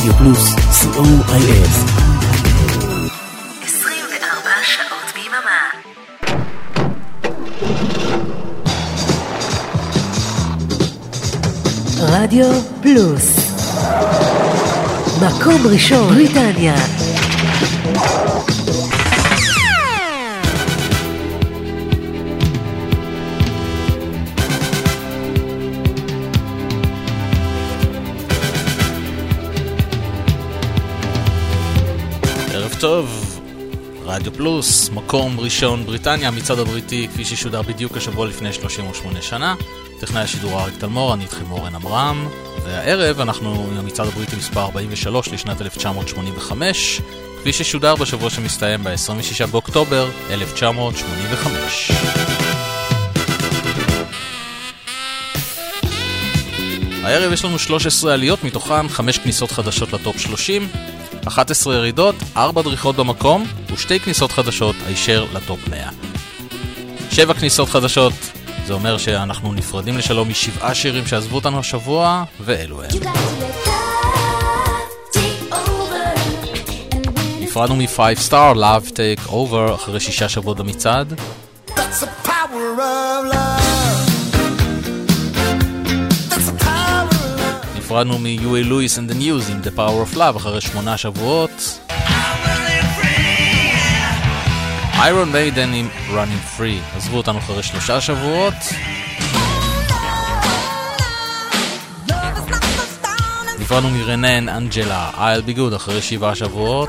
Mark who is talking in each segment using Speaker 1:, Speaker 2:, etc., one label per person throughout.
Speaker 1: רדיו פלוס, COIS.
Speaker 2: 24 שעות ביממה. רדיו פלוס, מקום ראשון בריטניה.
Speaker 3: טוב, רדיו פלוס, מקום ראשון בריטניה, המצעד הבריטי כפי ששודר בדיוק השבוע לפני 38 שנה. טכנאי השידור אריק תלמור, אני איתכם אורן אמרם, והערב אנחנו עם המצעד הבריטי מספר 43 לשנת 1985, כפי ששודר בשבוע שמסתיים ב-26 באוקטובר 1985. הערב יש לנו 13 עליות, מתוכן 5 כניסות חדשות לטופ 30, 11 ירידות, 4 דריכות במקום ו2 כניסות חדשות הישר לטופ 100. 7 כניסות חדשות, זה אומר שאנחנו נפרדים לשלום מ7 שירים שעזבו אותנו השבוע, ואלו הם. נפרדנו מ5 Star, Love Take Over, אחרי 6 שבועות במצעד. נפרדנו מ-Huey Lewis and the News עם The Power of Love אחרי 8 שבועות. Iron Maiden עם Running Free עזבו אותנו אחרי 3 שבועות. נפרדנו מרנן אנג'לה I'll Be Good אחרי 7 שבועות.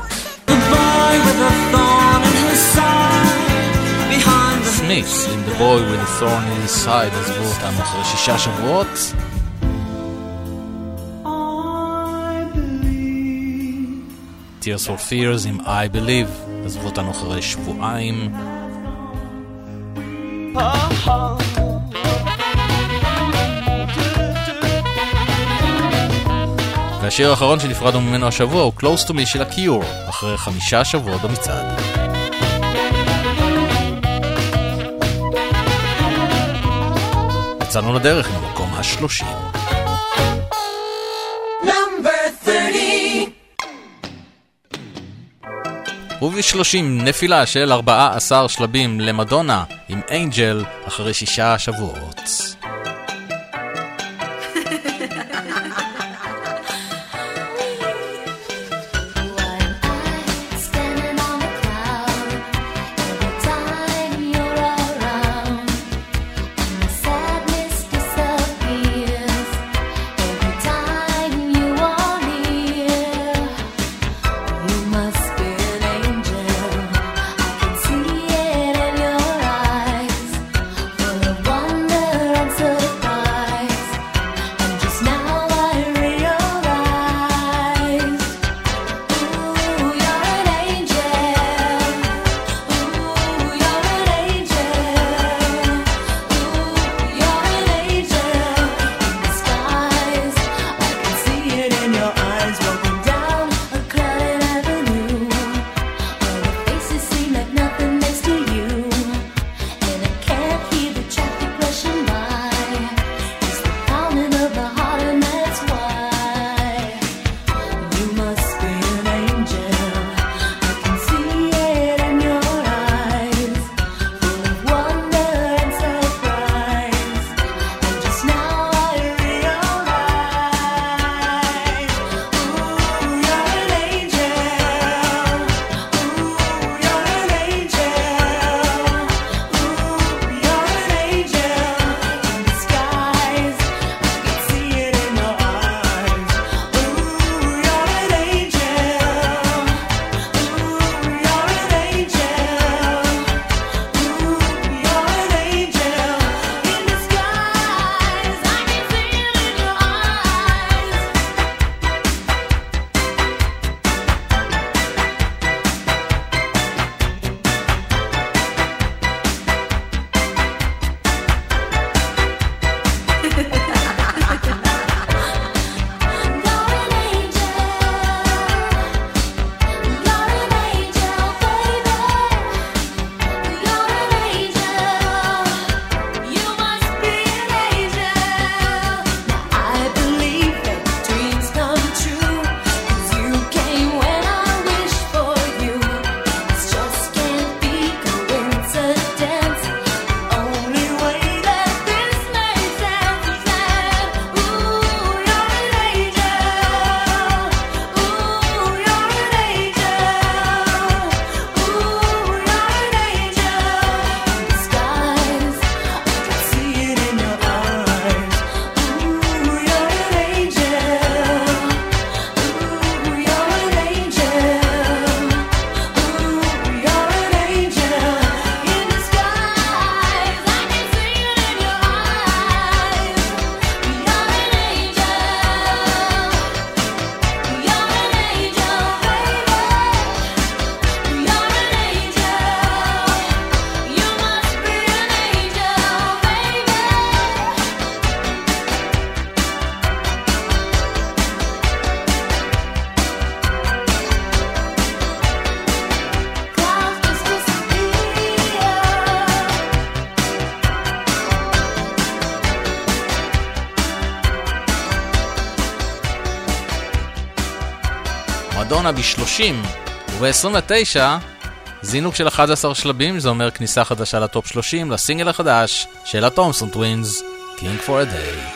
Speaker 3: Smiths עם The Boy with a Thorn in His Side עזבו אותנו אחרי 6 שבועות. Tears for Fears עם I Believe עזבו אותנו אחרי שבועיים. והשיר האחרון שנפרדנו ממנו השבוע הוא Close to Me של ה-Cure אחרי 5 שבועות במצעד. יצאנו לדרך עם המקום ה-30. וב-30 נפילה של 14 שלבים למדונה עם אנג'ל אחרי 6 שבועות. מדונה ב-30, וב-29 זינוק של 11 שלבים, זה אומר כניסה חדשה לטופ 30, לסינגל החדש של התומסון טווינס, King for a Day.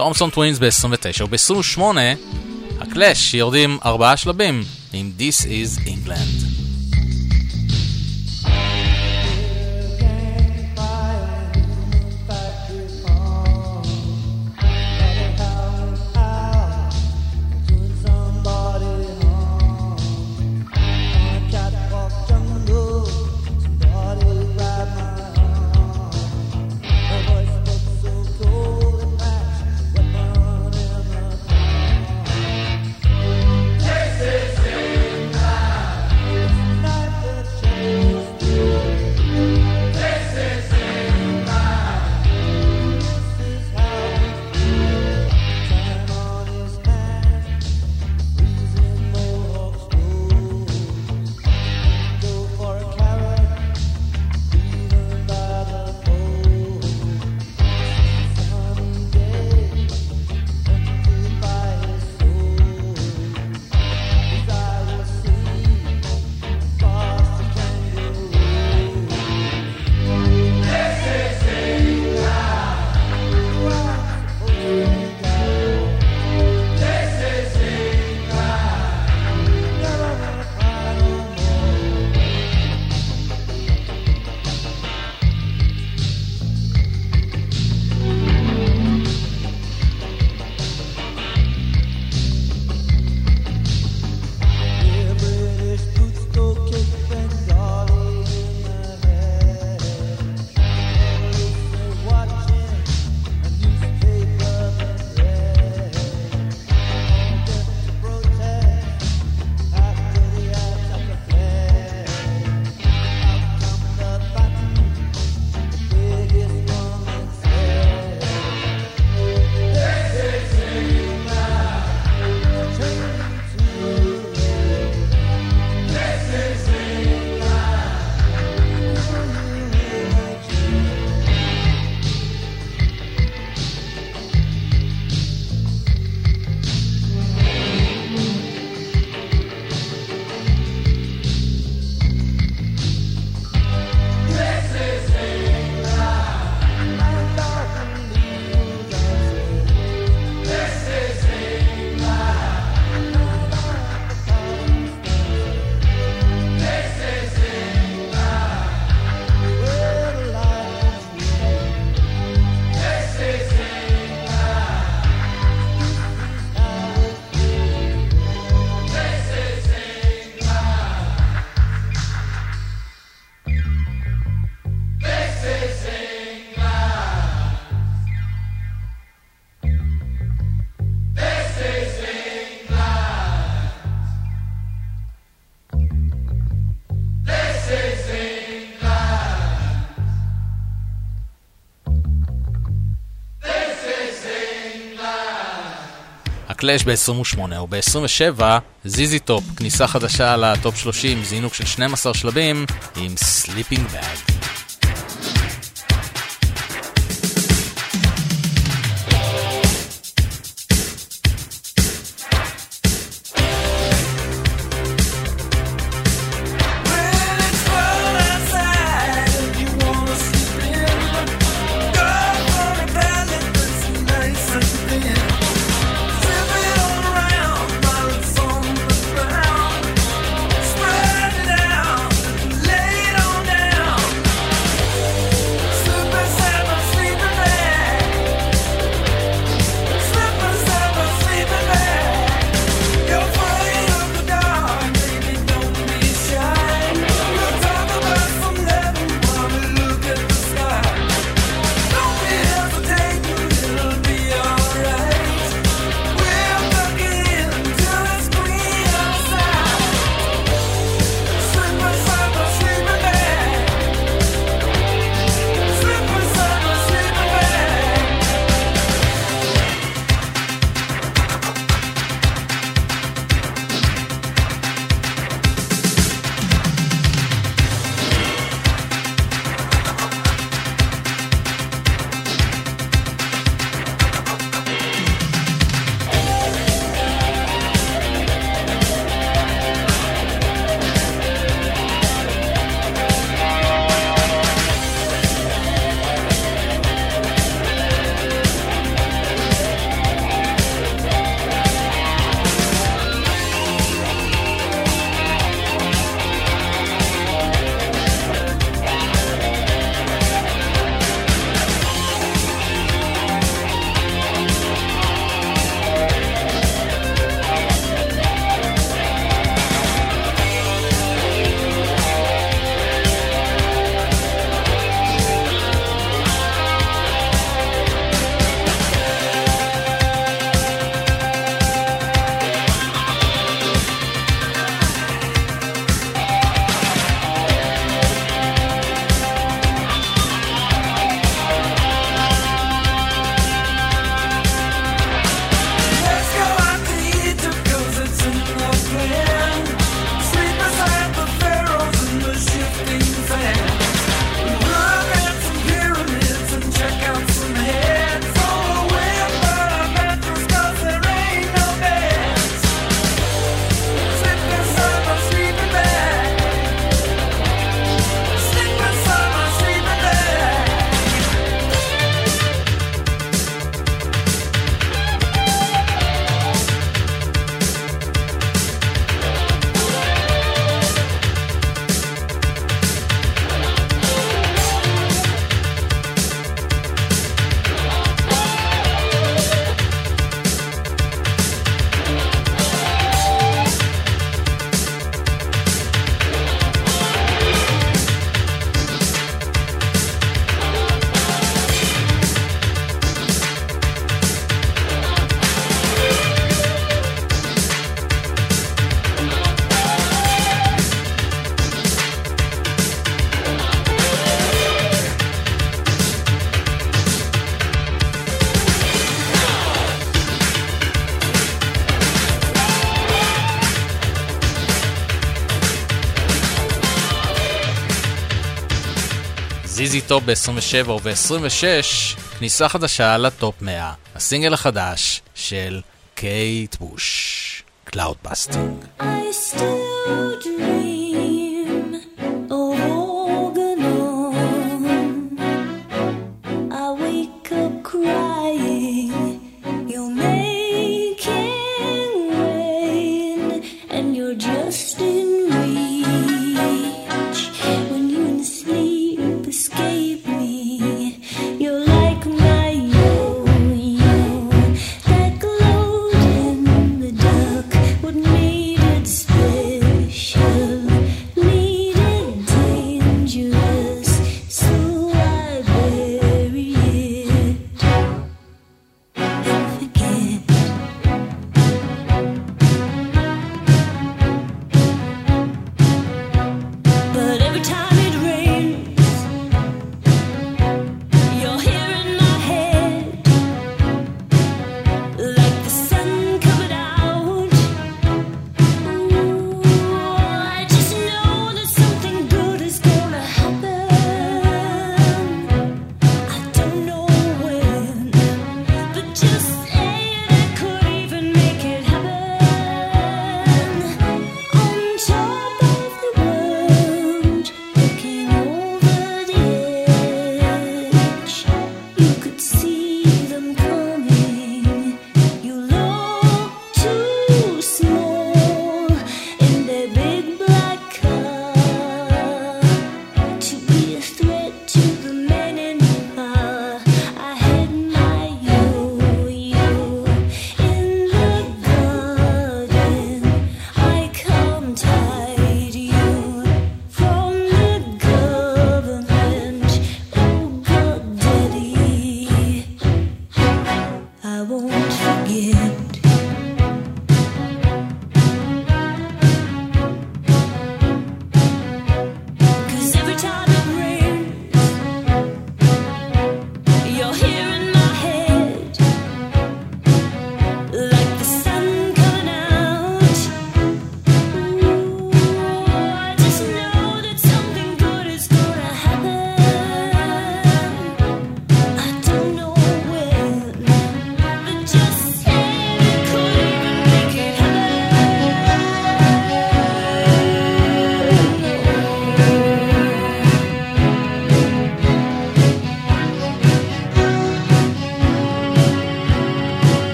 Speaker 3: תומסון טווינס ב-29 וב-28 הקלאש יורדים 4 שלבים עם This is England.
Speaker 4: קלאש ב-28 וב-27 זיזי טופ, כניסה חדשה לטופ 30, זינוק של 12 שלבים עם סליפינג בג.
Speaker 3: זיזי טופ ב-27 וב-26, כניסה חדשה לטופ 100, הסינגל החדש של קייט בוש, Cloudbusting.
Speaker 5: I still dream of Organon. I wake up crying, you're making rain, and you're just in reach. When you in sleep escape me, you're like my yo-yo that glowed in the dark. What made it special?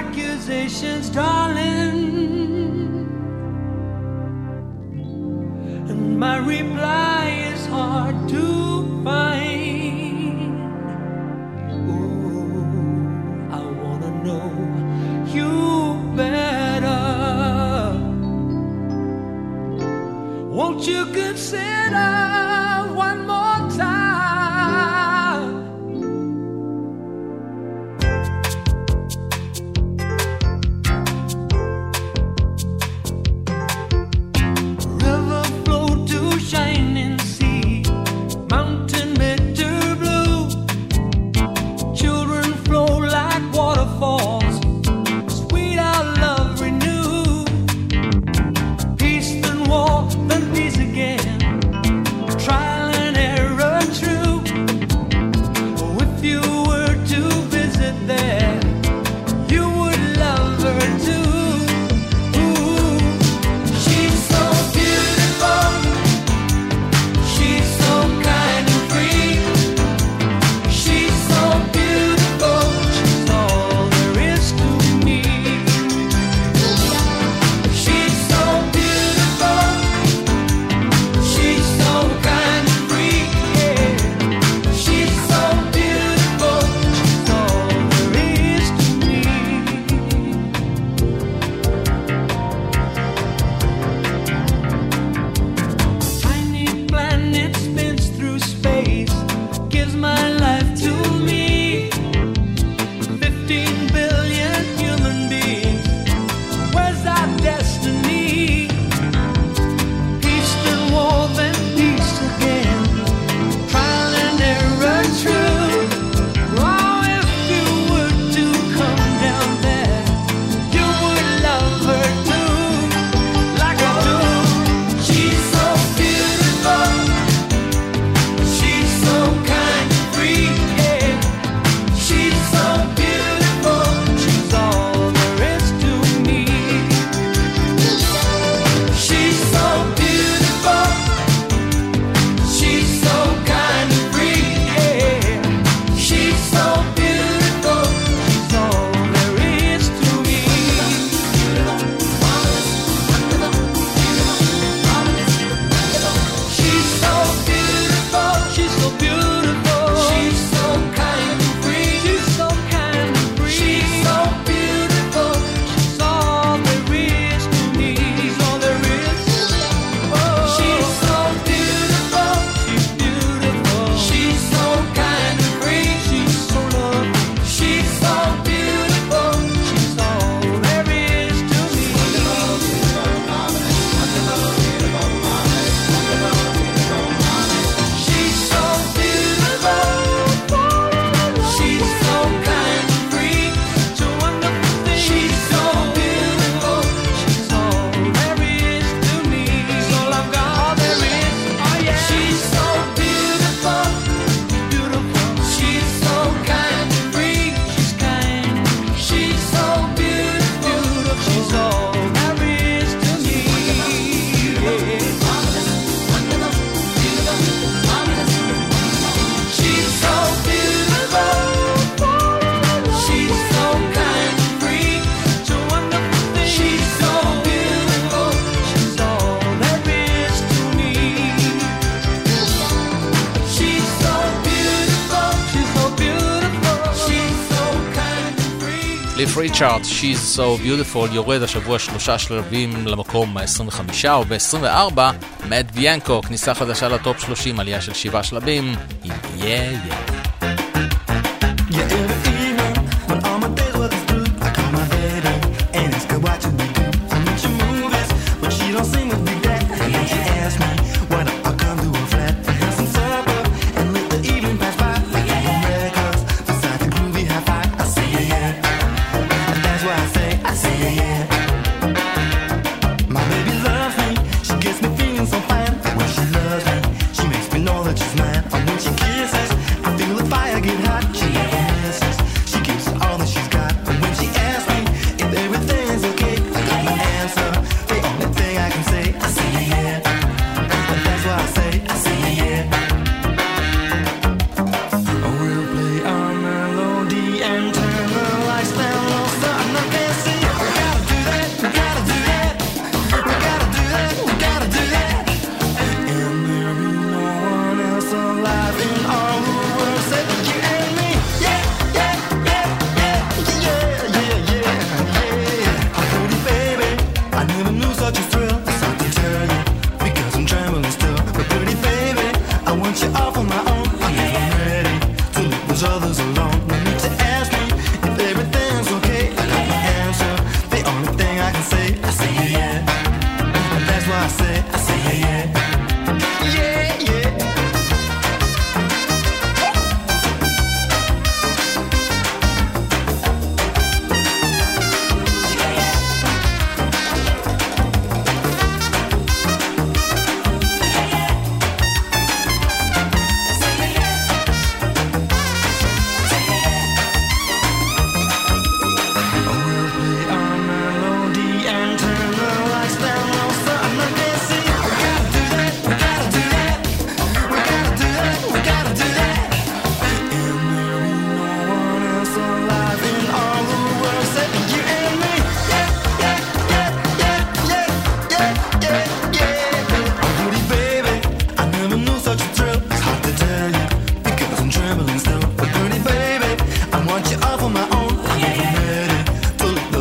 Speaker 6: accusations, darling, and my reply is hard to find. Ooh, I wanna know you better. Won't you consider one more time? River flow to shining sea, mountain bitter blue. Children flow like waterfalls, sweet our love renew. Peace then war, then peace again. Trial and error true. Oh, if you were to visit there, you would love her too. Ooh, she's so beautiful. She's so kind and free. She's so beautiful. She's all there is to me. She's so beautiful. She's so kind and free. Yeah. She's so beautiful. She's all there is to me. Tiny planet spins through space, gives my life to me. 15 billion human beings, where's our destiny? Peace then war, then peace again. Trial and error true. Oh, if you were to come down there, you would love her too, like I do. She's so beautiful. She's so kind and free. Yeah. She's so beautiful. She's all there is to me. She's so beautiful. She's so kind and free. Yeah. She's so beautiful. She's all there is to me. She's so beautiful. She's so beautiful. She's so kind and free. She's so kind and free. She's so beautiful. She's all there is to me. She's all there is. Oh, she's so beautiful. She's beautiful. She's so kind and free. She's so lovely. She's so beautiful. She's all there is to me. She's so beautiful. She's so kind and free. Such a wonderful thing. She's so beautiful. She's all there is to me. She's all I've got. All there is. Oh yeah. She's so beautiful. Beautiful. She's so kind and free. She's kind. She's so beautiful. She's all there is to me. Yeah. She's so beautiful. She's so kind and free. Such a wonderful thing. She's so beautiful. She's all there is to me. She's so beautiful. She's so beautiful. She's so kind and free.
Speaker 3: קליף ריצ'ארד, She's So Beautiful, יורד השבוע 3 שלבים למקום ה-25, וב-24, מאט ביאנקו, כניסה חדשה לטופ 30, עלייה של 7 שלבים, עם Yeah Yeah.
Speaker 7: Yeah, every evening when all my days work is through, I call my baby and ask her what you do. I mention movies, but she don't seem to be that. And then she asks me why don't I come to her flat and have some supper and let the evening pass by. Like some records beside the groovy hi-fi. I say yeah, yeah. That's why I say yeah, yeah. My baby loves me, she gets me feeling so fine. When she loves me, she makes me know that she's mine. And when she kisses, I feel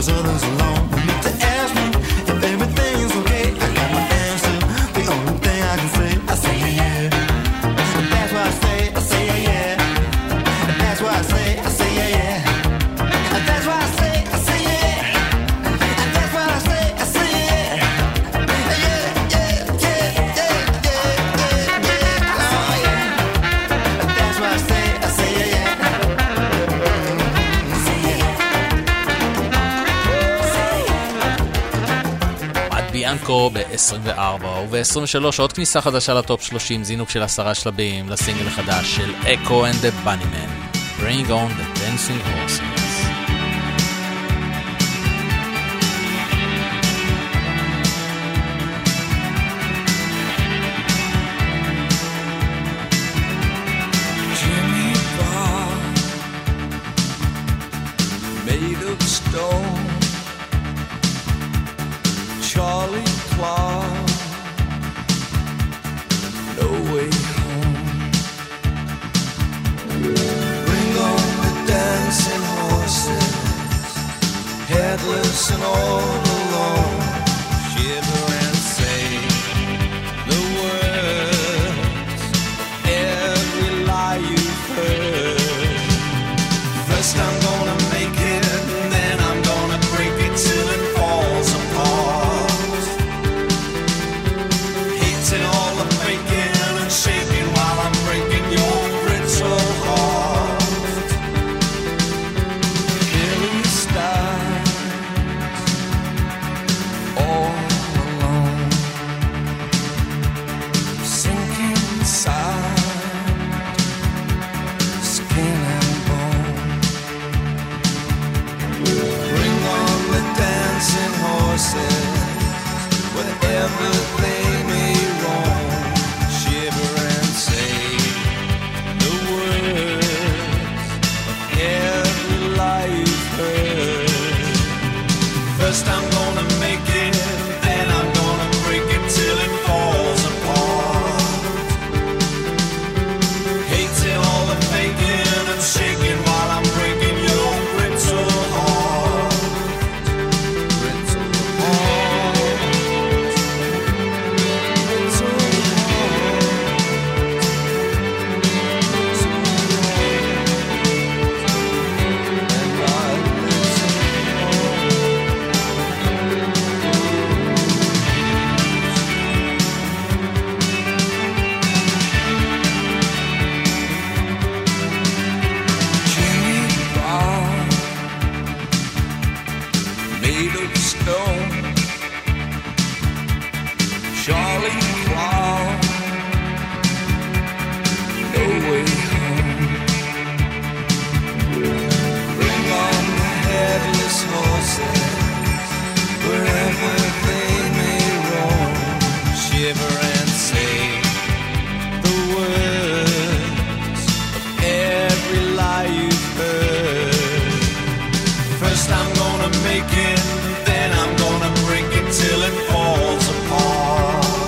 Speaker 7: those others alone. If they ask me if everything's okay, I got my answer. The only thing I can say, I say yeah. That's why I say yeah, yeah. That's why I say yeah, yeah. That's why I say yeah. That's why I say yeah. Yeah, yeah, yeah, yeah, yeah, yeah. Oh yeah. That's why I say yeah, yeah.
Speaker 3: ביאנקו ב-24 וב-23 עוד כניסה חדשה לטופ 30, זינוק של 10 שלבים לסינגל החדש של Echo and the Bunnymen, Bring on the Dancing Horses.
Speaker 6: Jimmy Bob, made of stone. Charlie Clark, no way home. Bring on the dancing horses, headless and all alone. Shiver and say the words, every lie you've heard. First I'm gonna make it, and then I'm gonna break it till it falls apart. Hating all the faking and shaking while I'm breaking your brittle heart. Killing stars all alone, sinking inside skin and bone. Bring on the dancing horses, wherever they may roam. Shiver and say the words of every lie you've heard. First I'm gonna make it, then I'm gonna break it till it falls apart. Hating all the faking and shaking while I'm breaking your brittle heart. Brittle heart. Brittle Jimmy Bob, made of stone. Charlie Clark, no way home. Bring on the headless horses, wherever they may roam. Shiver and say the words of every lie you've heard. First I'm gonna make it, then I'm gonna break it till it falls apart.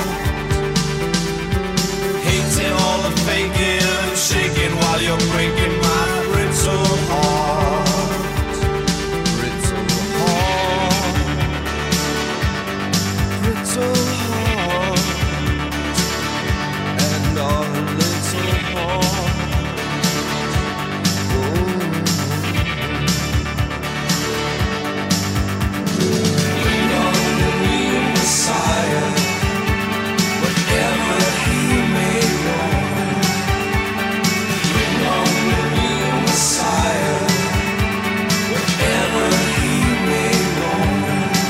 Speaker 6: Hating all the faking and shaking while you're breaking my brittle heart. Brittle heart. Brittle heart. And our little heart. Bring on the real Messiah, whatever he may roam. Bring on the real Messiah, whatever he may roam.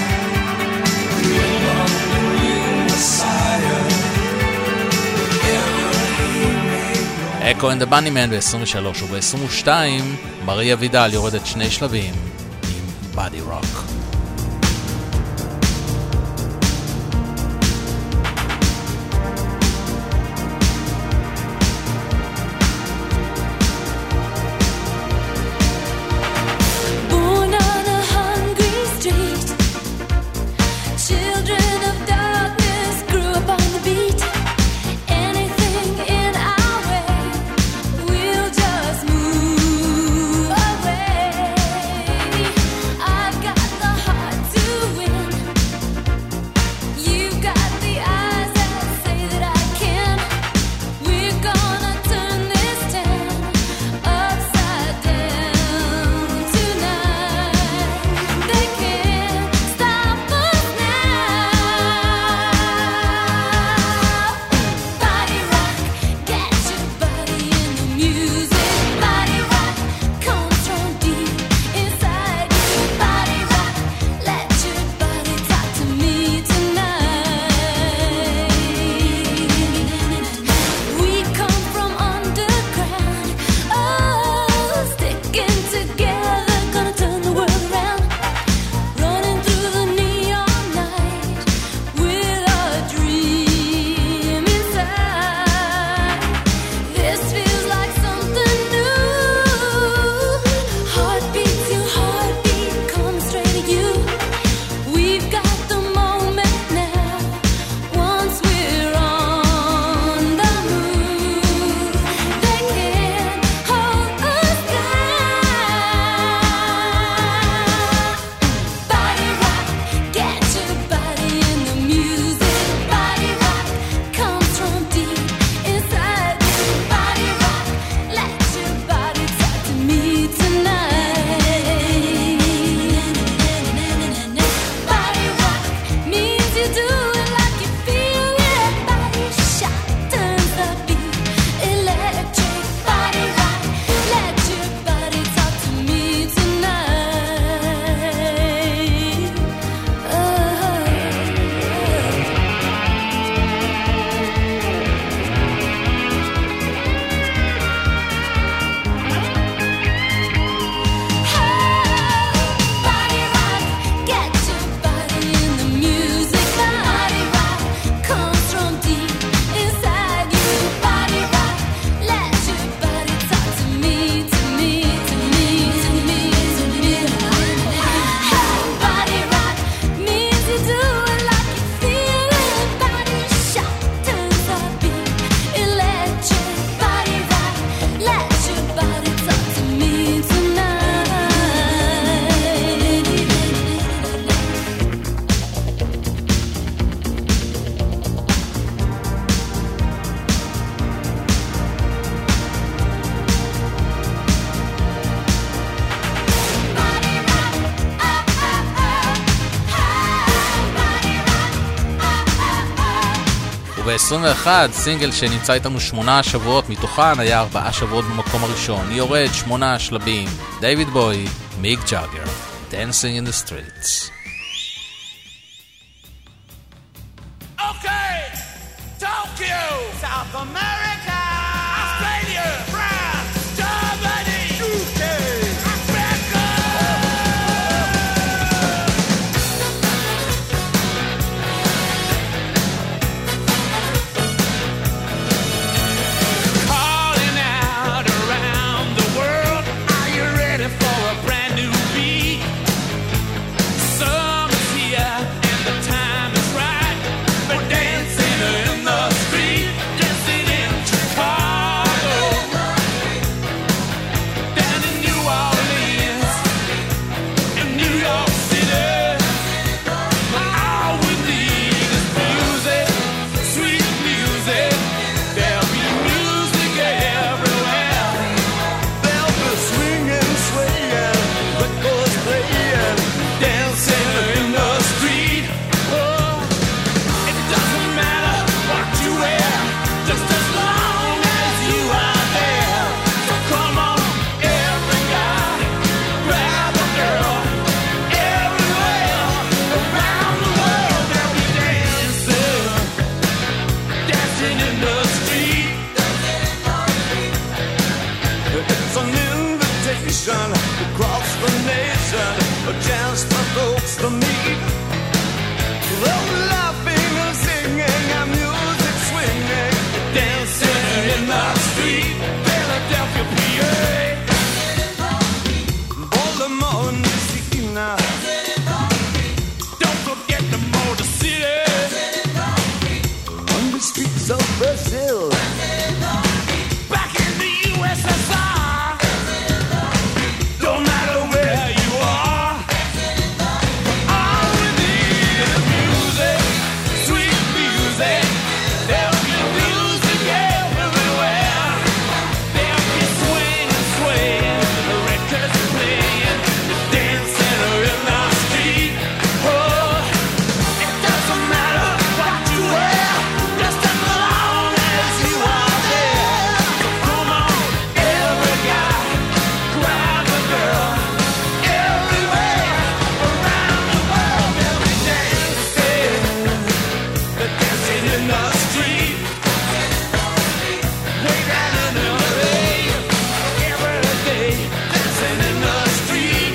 Speaker 6: Bring on the real Messiah, whatever he may roam.
Speaker 3: Echo and the Bunnymen ב-23 וב-22 מריה וידל יורדת 2 שלבים עם Body Rock.
Speaker 5: Born on a hungry street, children of darkness grew up on the beat. Anything in our way, we'll just move away. I've got the
Speaker 3: וב-21 סינגל שנמצא איתנו 8 שבועות, מתוכן היה 4 שבועות במקום הראשון, יורד 8 שלבים, דיוויד בוי, מיק ג'אגר, Dancing in the Streets.
Speaker 6: Okay, Tokyo, South America, Australia, France, Germany, UK, Africa. Calling out around the world, are you ready for a brand new beat? Summer's here and the time is right. We're dancing in the street, dancing in Chicago, down in New Orleans, in New York City. All we need is music, sweet music. There'll be music everywhere. There'll be swinging, swaying, records playing, dancing in the street. Oh. It doesn't matter what you wear, just as long as you are there. So come on, every guy, grab a girl. Everywhere around the world they'll be dancing, dancing in the street. It's an invitation across the nation, a chance for folks to meet. Oh, laughing and singing and music swinging, dancing in the street, Philadelphia, PA. Baltimore, Messina. Don't forget the Motor City. On the streets of Brazil. Back in the USSR. Don't matter where you are. All we need is music, sweet music. There'll be music everywhere. There'll be swinging, swaying, the records playing, dancing in the street. Oh, it doesn't matter what you wear, just as long as you are there. So come on, every guy, grab a girl. Everywhere around the world they'll be dancing, dancing in the street. Way down in LA, every day, dancing in the street.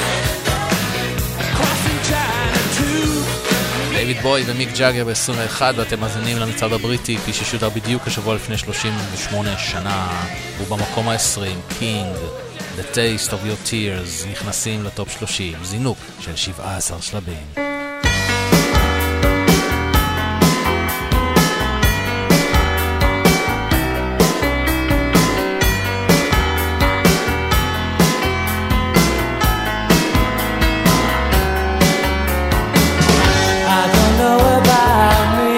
Speaker 6: Crossing China too.
Speaker 3: דיוויד בוי ומיק ג'אגר ב-21, ואתם מאזינים למצעד הבריטי כפי ששודר בדיוק השבוע לפני 38 שנה. הוא במקום ה-20, קינג, The Taste of Your Tears, נכנסים לטופ 30, זינוק של 17 שלבים.
Speaker 8: I don't know about me.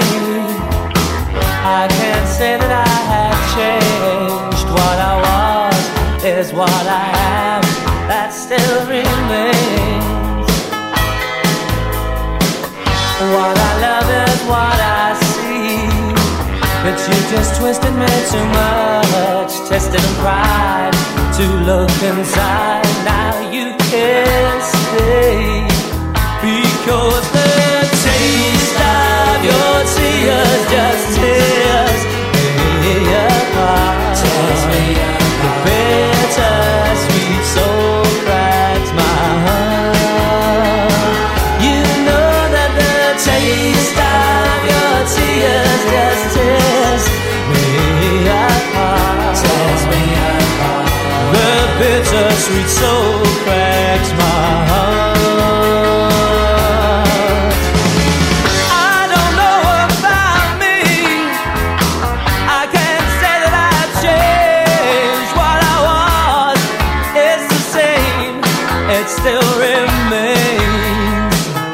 Speaker 8: I can't say that I have changed. What I was is what I am. That still remains. What I love is what I see. But you just twisted me too much, tested and cried to look inside. Now you can't stay. Because the taste of your tears just tears me apart. The bitter sweet soul cracks my heart. You know that the taste of your tears just tears me apart. The bitter sweet soul cracks my heart. Still remains.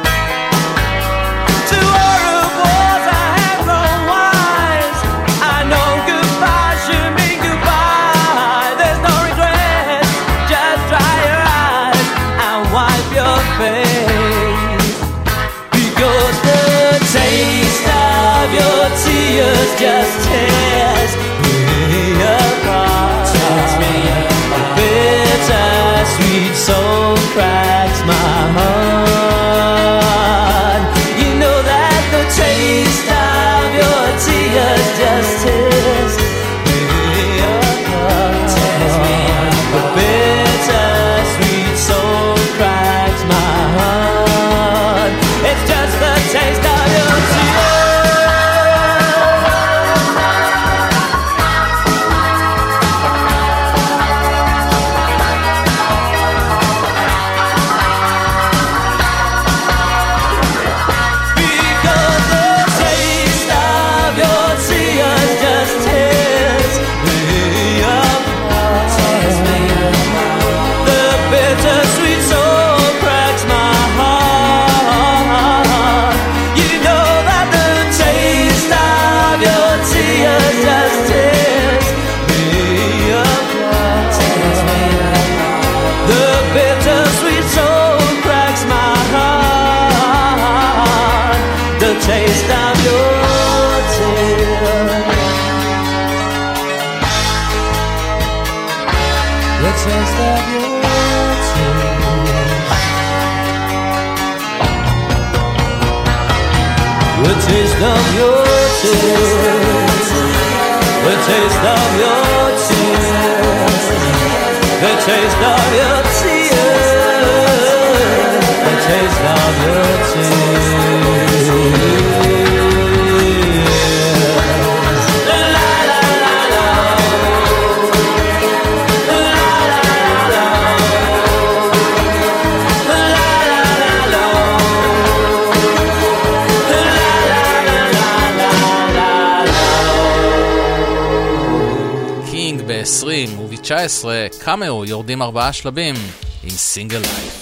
Speaker 8: To all of wars I have grown wise. I know goodbye should mean goodbye. There's no regret. Just dry your eyes and wipe your face. Because the taste of your tears tears just tears me apart. A bittersweet soul cracks my heart. You know that the taste of your tears just tears me apart. A bittersweet soul cracks my heart. It's just the taste of your tears. Taste of your tears. The taste of your tears. The taste of your tears. The taste of your tears. The taste of your tears. The taste of your tears.
Speaker 3: ב-20 וב-19 קאמאו יורדים 4 שלבים עם סינגל לייף.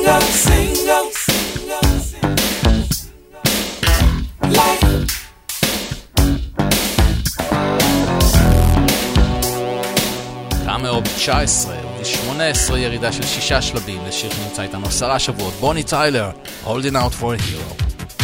Speaker 6: single, single, life.
Speaker 3: קאמרו ב-19 וב-18 ירידה של 6 שלבים לשיר שנמצא איתנו 10 שבועות, בוני טיילר, Holding Out for a Hero.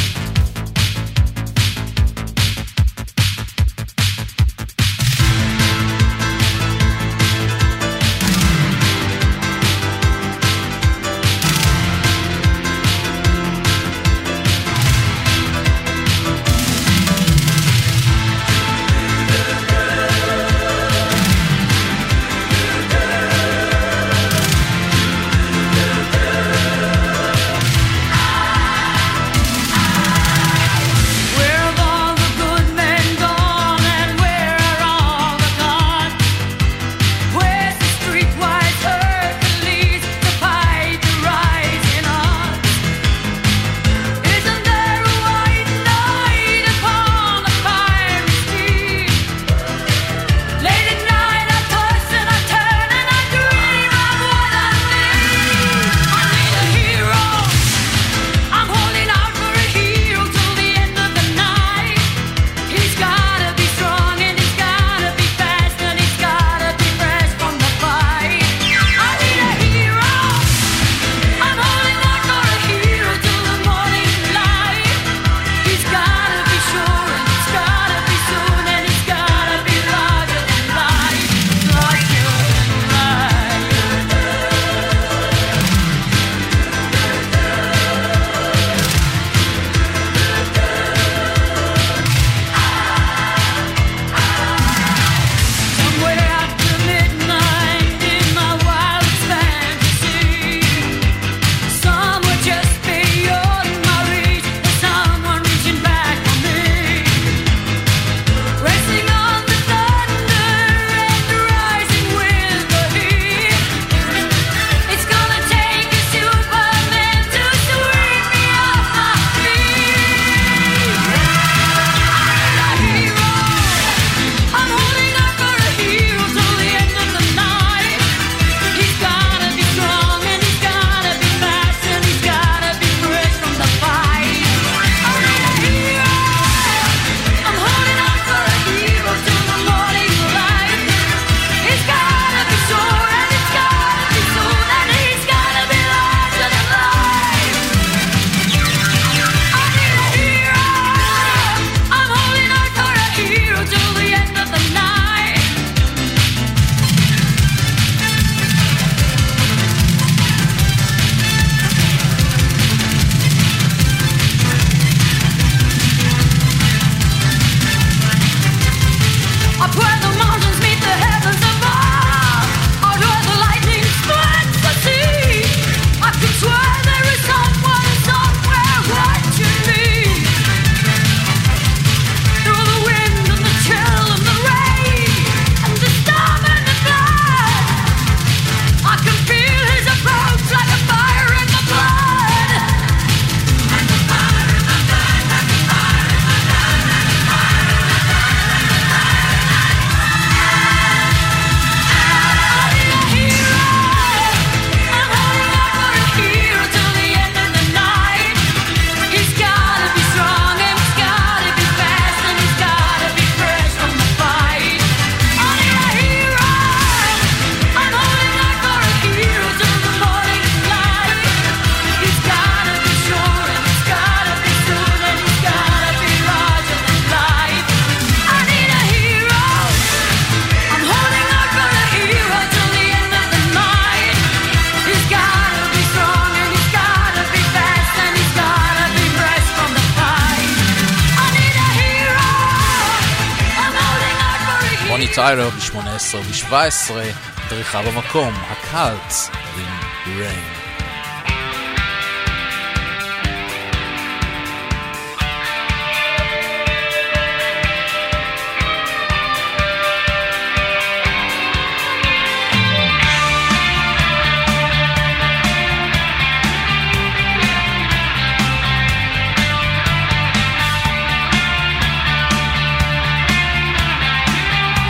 Speaker 3: טיילר ב-18 וב-17 דריכה במקום, הקאלטס עם ריין.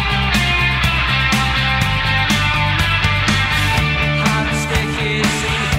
Speaker 6: Hot sticky, see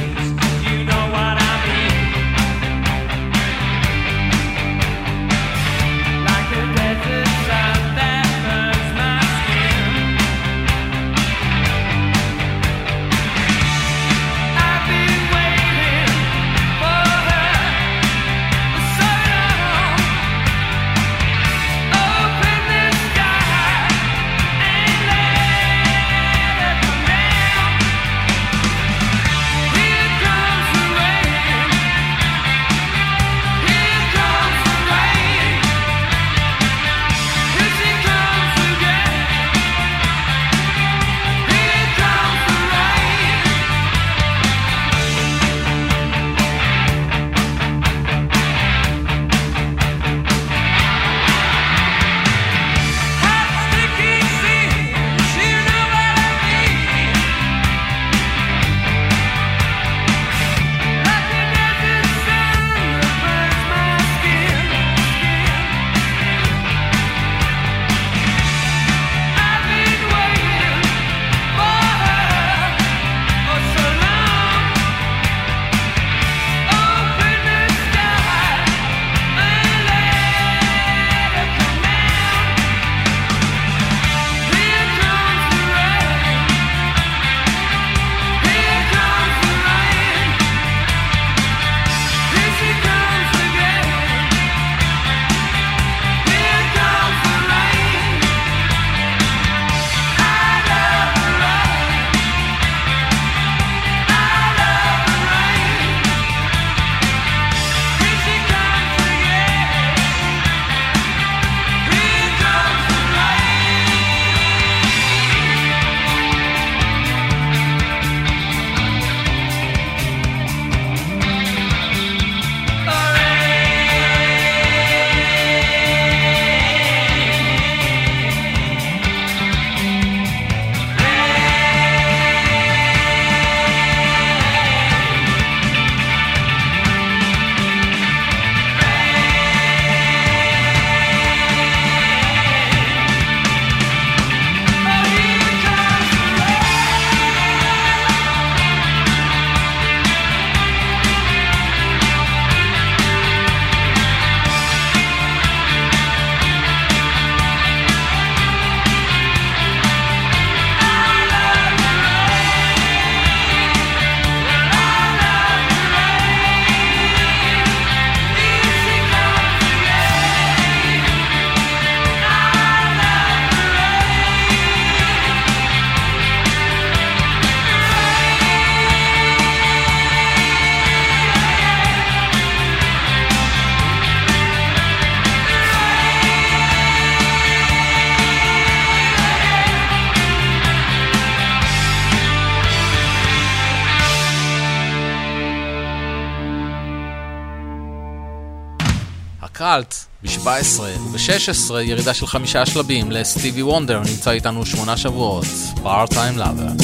Speaker 3: קראלט ב-17 וב-16 ירידה של 5 שלבים לסטיבי וונדר, נמצא איתנו 8 שבועות, Part-Time Lover.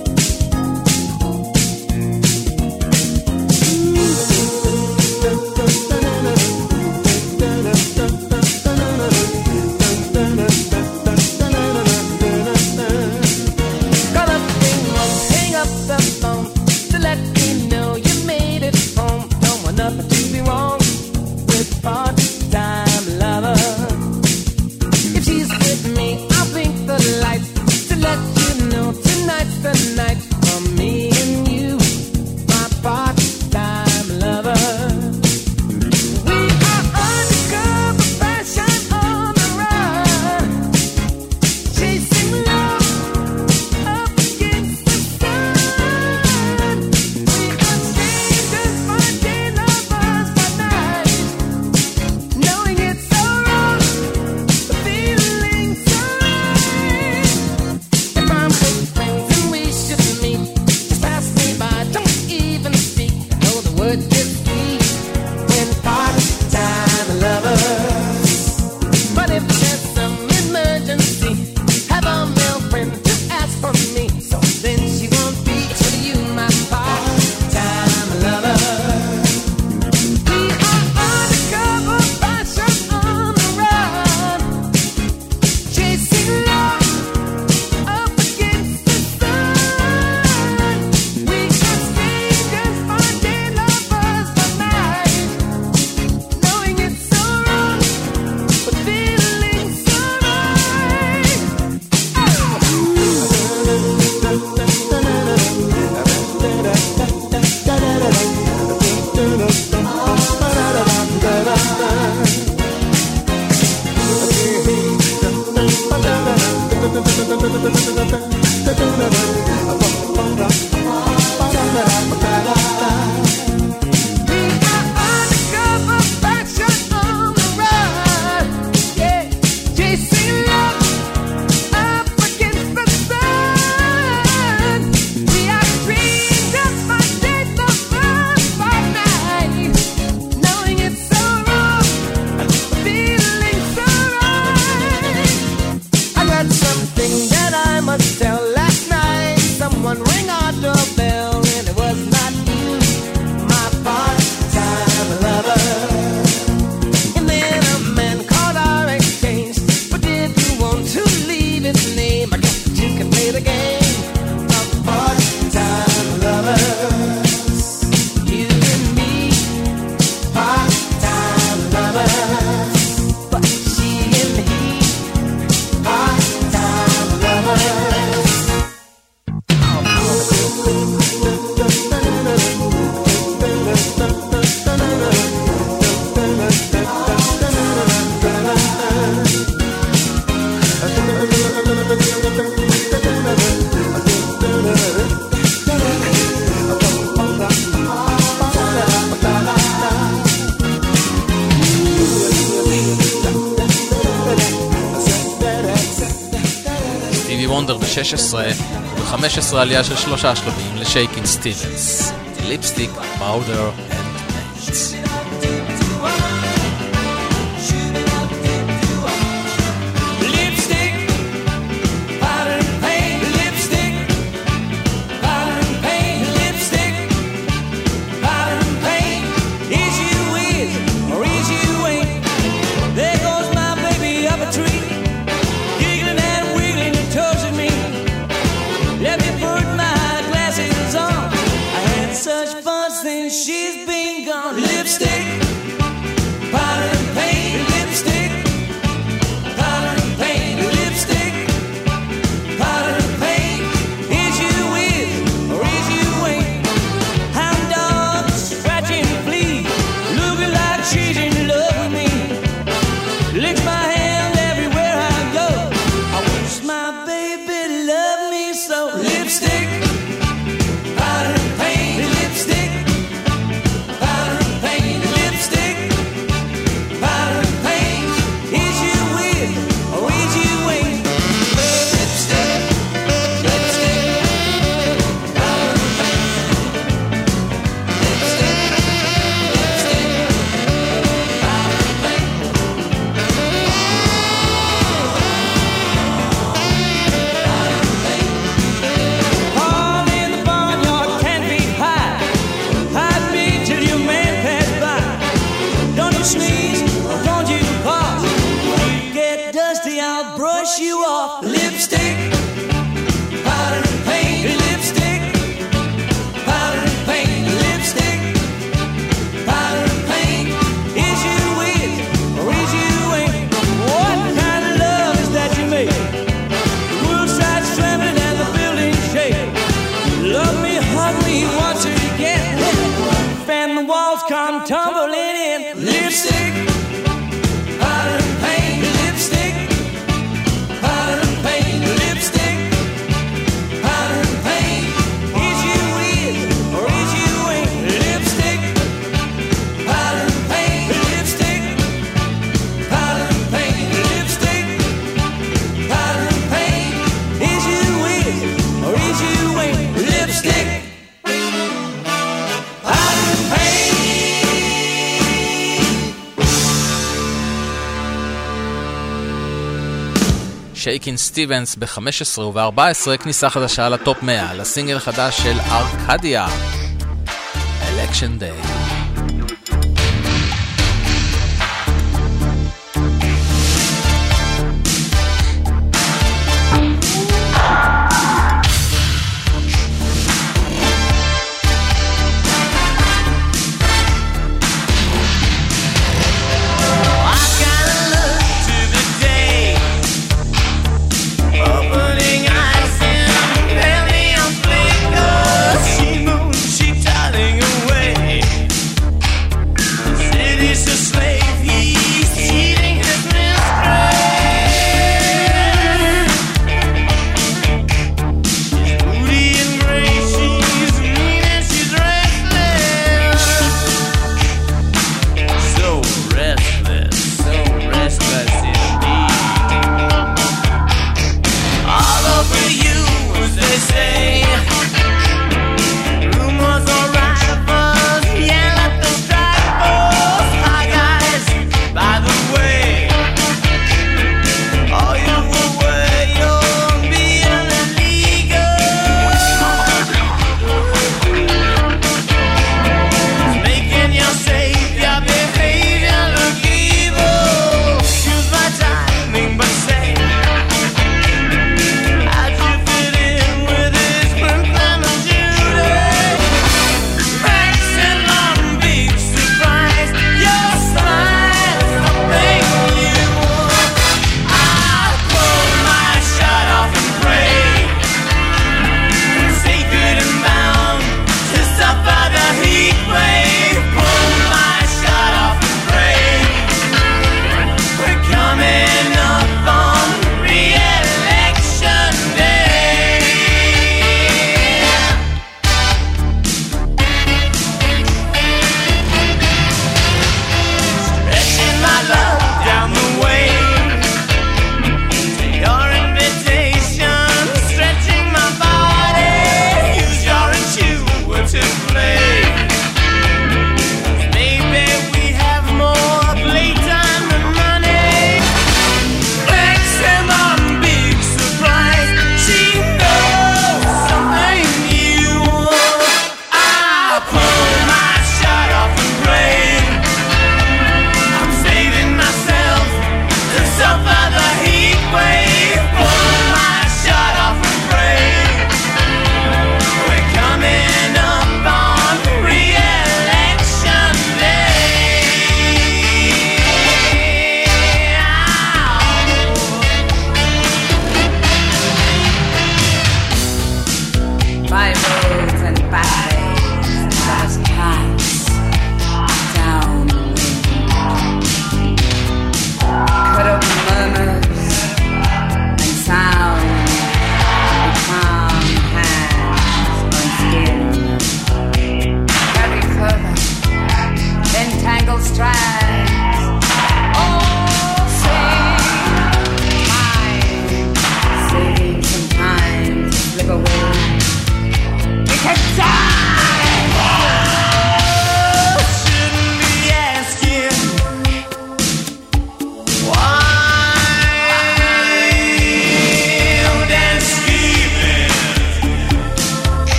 Speaker 3: ב-16 וב-15 עלייה של 3 שלבים לשייקין סטיבנס, ליפסטיק, פאודר אנד פיינטס.
Speaker 6: Lipstick, powder and paint,
Speaker 8: walls come tumbling in. Lipstick, powder and paint. Lipstick, powder and paint. Lipstick, powder and paint. Is you is or is you ain't? Lipstick, powder and paint. Lipstick, powder and paint. Lipstick, powder and paint. Is you is or is you ain't? Lipstick, powder and paint.
Speaker 3: שייקין סטיבנס ב-15 וב-14 כניסה חדשה לטופ 100 לסינגל חדש של ארקדיה, Election Day.
Speaker 8: She moves, she darting away.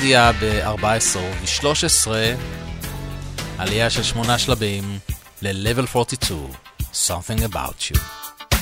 Speaker 3: יציאה ב-14 וב-13, עלייה של 8 שלבים ל-Level 42, Something About You.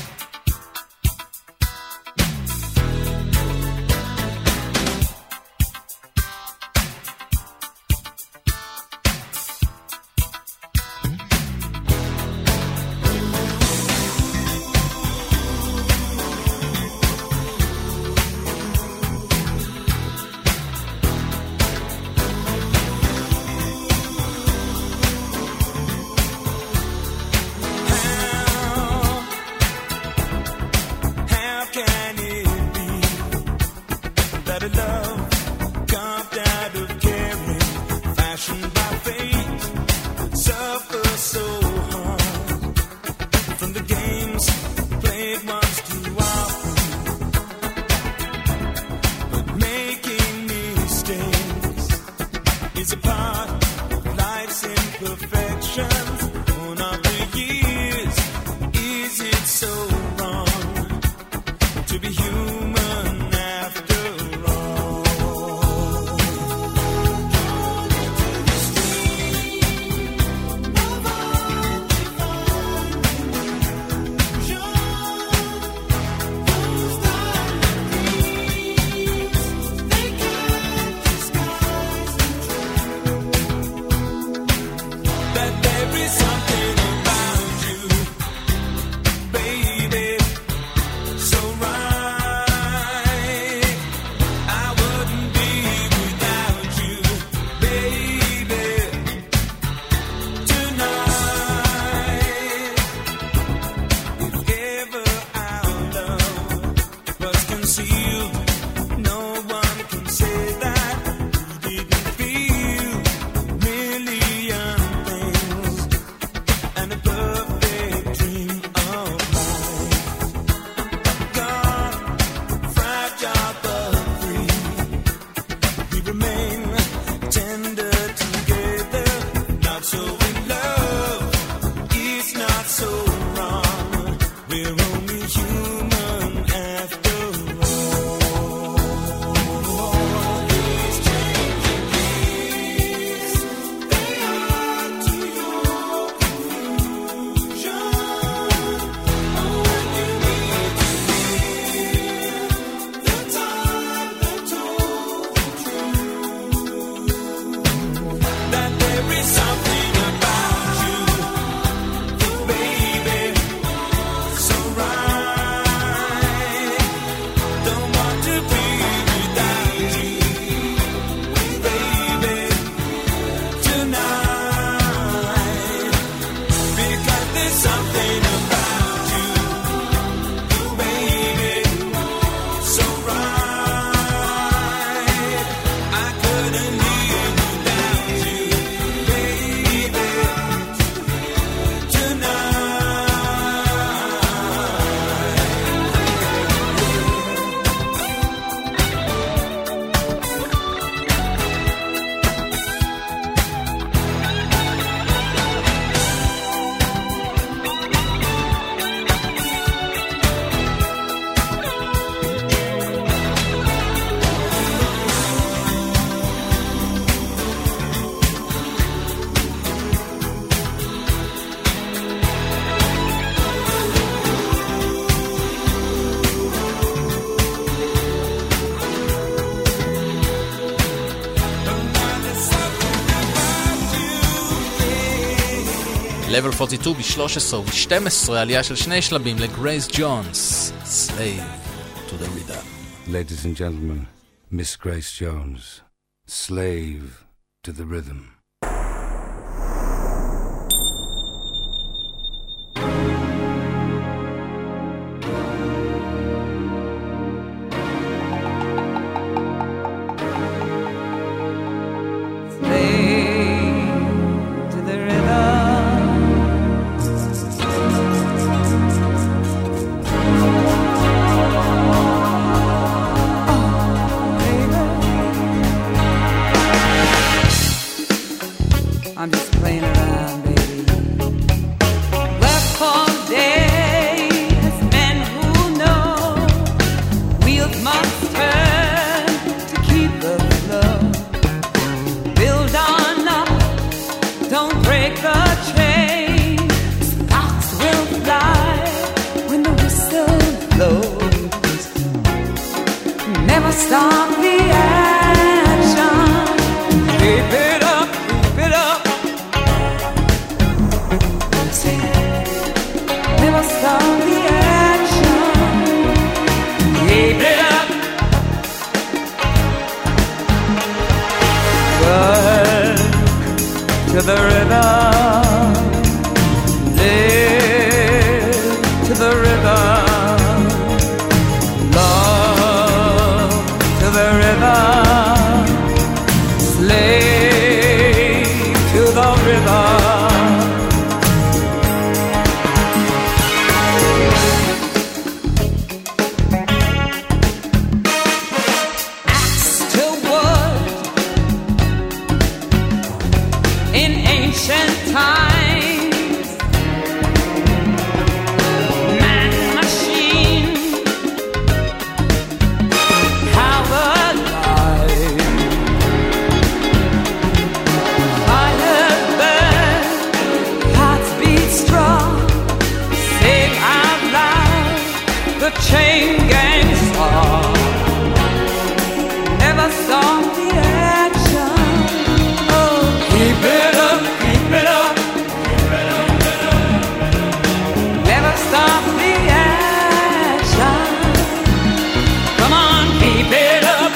Speaker 3: Level 42 ב-13 וב-12, עלייה של 2 שלבים לגרייס ג'ונס, Slave to the Rhythm.
Speaker 9: Ladies and gentlemen, Miss Grace Jones, Slave to the Rhythm.
Speaker 8: never stop the action. Keep it up. Work to the rhythm. Live to the rhythm. Love to the rhythm. Slave to the rhythm. Chain gang song. Never stop the action. Oh, keep it up, keep it up. Never stop the action. Come on, keep it up.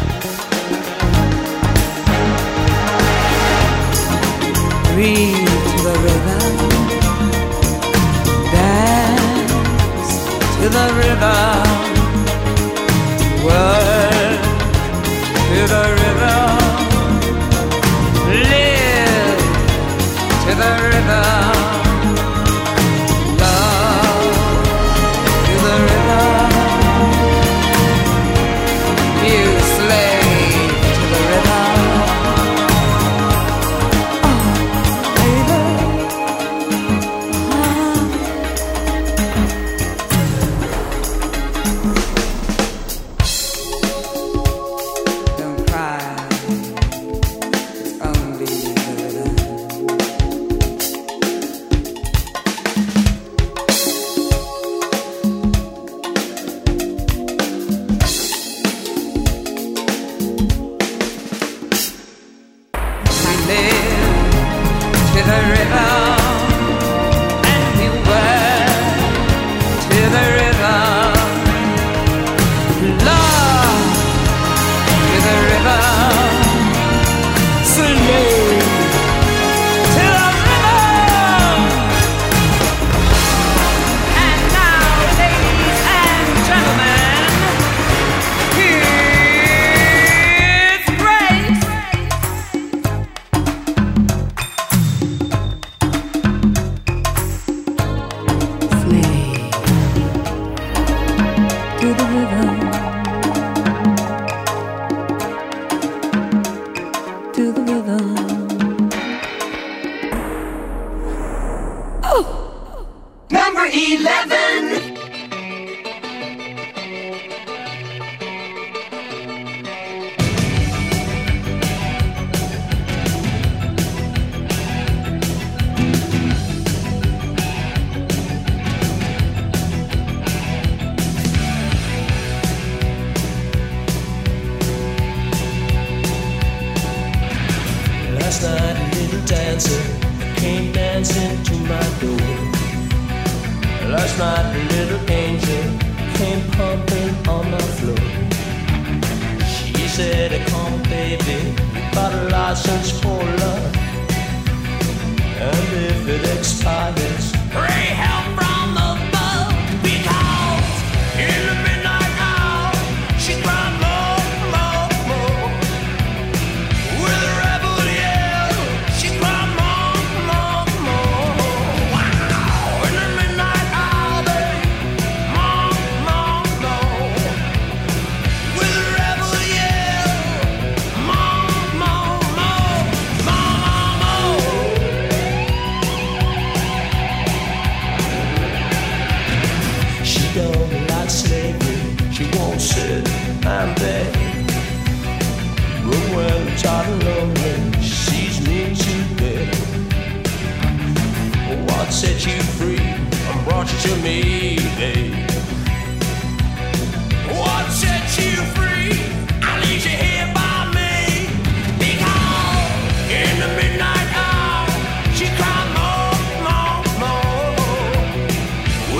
Speaker 8: Breathe to the rhythm. Dance to the rhythm, work to the rhythm, live to the rhythm, love to the rhythm, you slave to the rhythm. Oh, baby.
Speaker 6: Number 11.
Speaker 10: Last night a little dancer came dancing to my door. Last night a little angel came pumping on my floor. She said, come baby, you got a license for love, and if it expires, pray help from above. Because in the midnight hour she cried more, more, more. With a rebel yell she cried more, more, more. Wow. In the midnight hour, babe, more, more, more. With a rebel yell, more, more, more, more, more. She don't like slavery, she won't sit and beg. But when I'm tired and lonely, she sees me today. What set you free and brought you to me, babe? What set you free? I leave you here by me. Because in the midnight hour she cried more, more, more.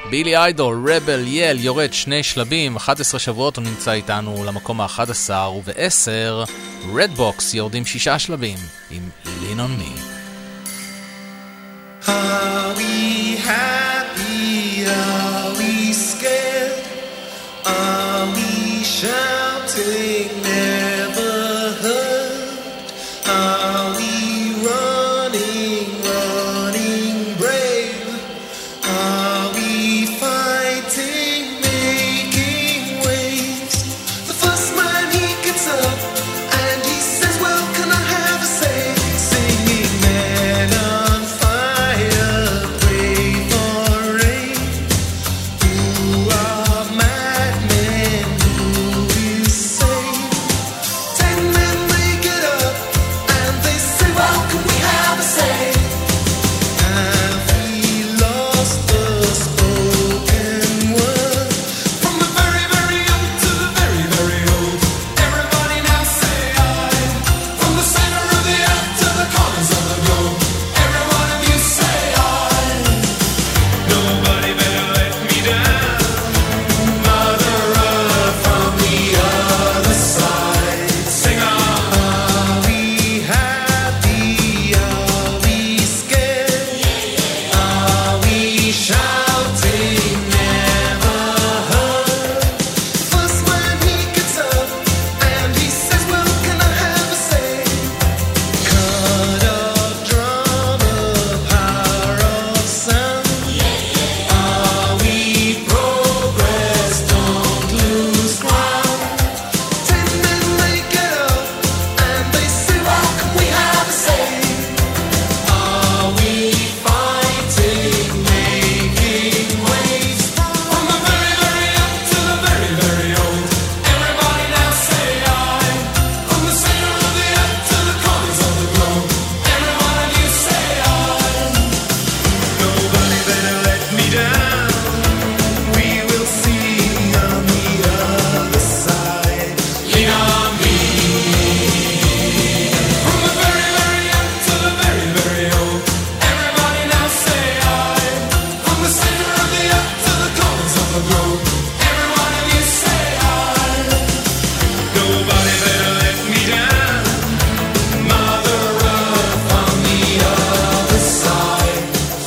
Speaker 3: בילי איידול, רבל יל, יורד 2 שלבים, 11 שבועות הוא נמצא איתנו למקום ה-11, וב-10, רדבוקס יורדים 6 שלבים עם Lean on Me.
Speaker 6: Are we happy? Are we scared? Are we shouting, never heard? Are we running, running brave? Are we fighting, making waves? The first man he gets up and he says, well, can I have a say? Singing men on fire, brave or rain. Who are madmen? Who is sane? 10 men they get up and they say, well, can we have a say? Have we lost the spoken word? From the very, very young to the very, very old, everybody now say I. From the center of the earth to the corners of the globe, every one of you say I. Nobody better let me down, Mother Earth from the other side. Sing on. Are we happy? Are we scared? Are we shouting, never heard? First when he gets up and he says, well, can I have a say? Cut of drum, a power of sound. Are we progress? Don't lose ground. 10 men they get up and they say, well, can we have a say? Are we fighting, making waves? From the very, very young to the very, very old, everybody now say I. From the center of the earth to the corners of the globe, every one of you say I. Nobody better let me down. We will see on the other side. Lean on me. From the very, very young to the very, very old, everybody now say I. From the center of the earth to the corners of the globe, every one of you say I. Nobody better let me down, Mother Earth on the other side.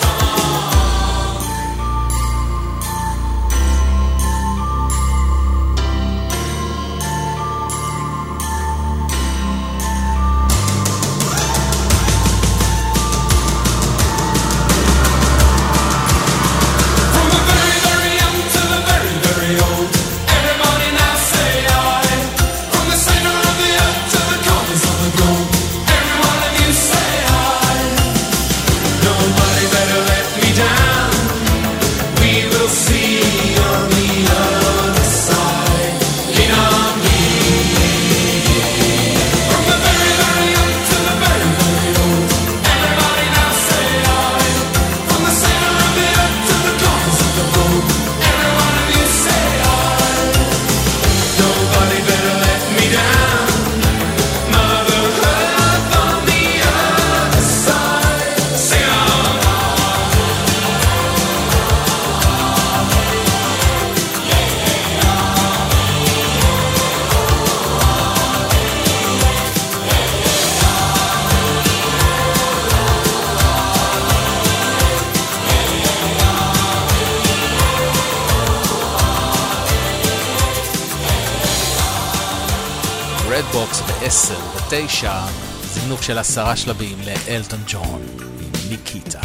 Speaker 6: From the very, very young to the very, very old, everybody now say I. From the center of the earth to the corners of the globe, every one of you say I. Nobody better let me down. We will see on the other side. Lean on me. From the very, very young to the very, very old, everybody now say I. From the center of the earth to the corners of the globe, every one of you say I. Nobody better let me down, Mother Earth on the other side. Sing on.
Speaker 3: רדבוקס ב-10 ו-9, זינוק של 10 שלבים לאלטון ג'ון עם ניקיטה.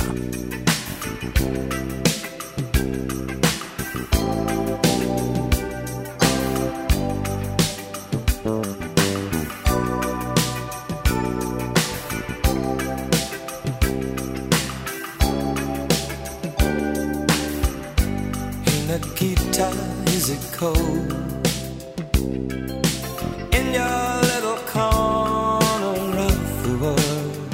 Speaker 6: Nikita, is it cold in your little corner of the world?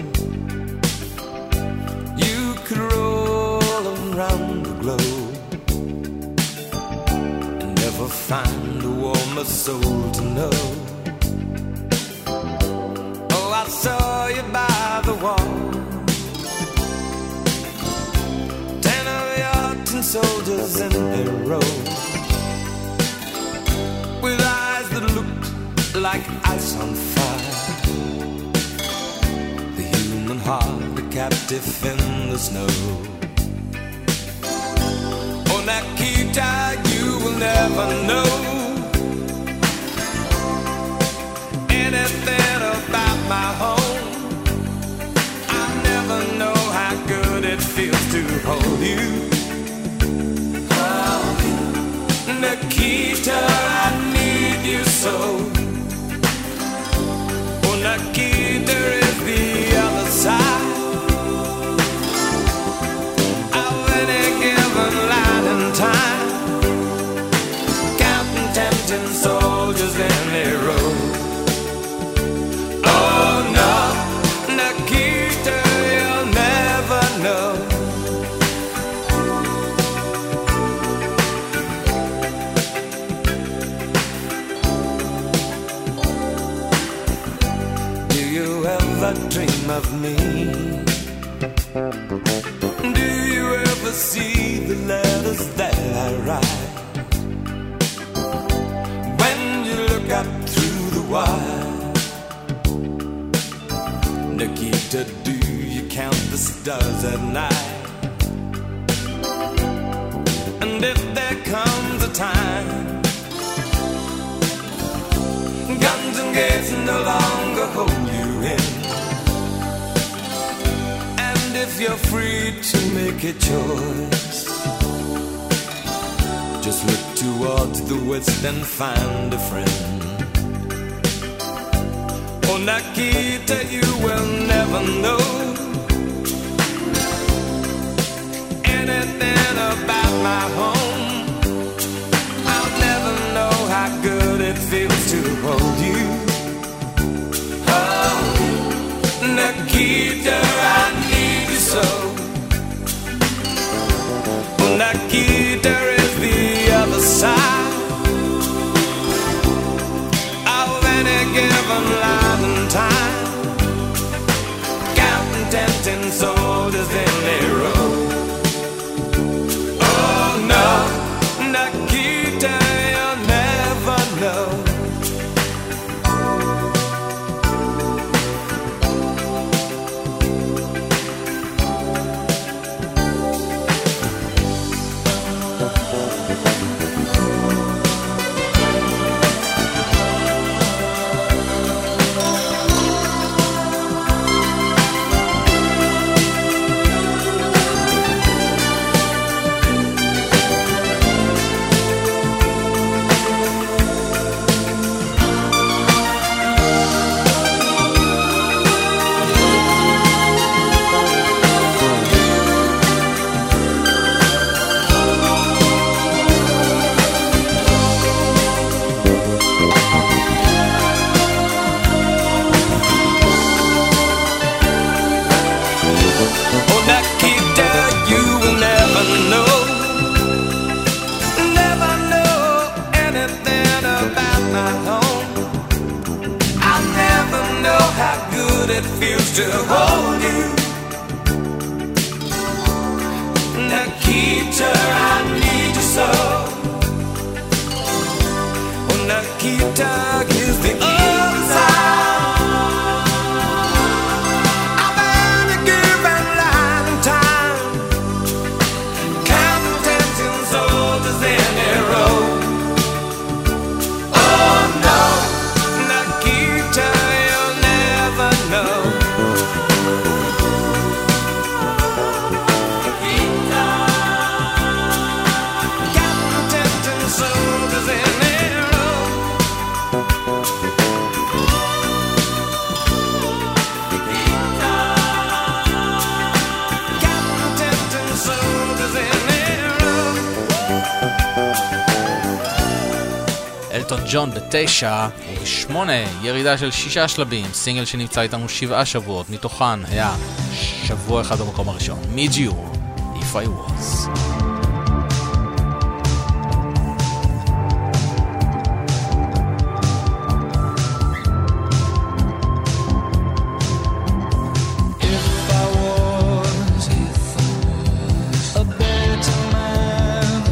Speaker 6: You could roll around the globe and never find a warmer soul to know. Oh, I saw you by the wall, 10 of your tin soldiers
Speaker 7: soldiers in their row, with eyes that looked like ice on fire. The human heart, a captive in the snow. On Akita, you will never know anything about my home. I never know how good it feels to hold you. Oh, Nikita, I need you so. Oh, Nikita is the other side of any given light and time, counting tempting soldiers in their row. Oh no, Nikita, you'll never know. Do you ever dream of me? Do you ever see the letters that I write? When you look up through the wire, Nikita, do you count the stars at night? And if there comes a time guns and gates no longer hold you in, and if you're free to make a choice, just look towards the west and find a friend. Oh, Nikita, you will never know anything about my home. I'll never know how good it feels to hold you. Oh, Nikita, I need you so. Oh, Nikita is the other side of any given life and time, counting tempting soldiers in their row. Oh no, Nikita, you'll never know. It feels to hold you. Nikita, I need you so. Oh, Nikita is the other side of any given life and time, counting tempting soldiers in their row. Oh no, Nikita, you'll never know.
Speaker 3: אלטון ג'ון ב9 וב8 ירידה של 6 שלבים, סינגל שנמצא איתנו 7 שבועות, מתוכן היה שבוע אחד במקום הראשון, Meet You, If I Was.
Speaker 7: If I was a better man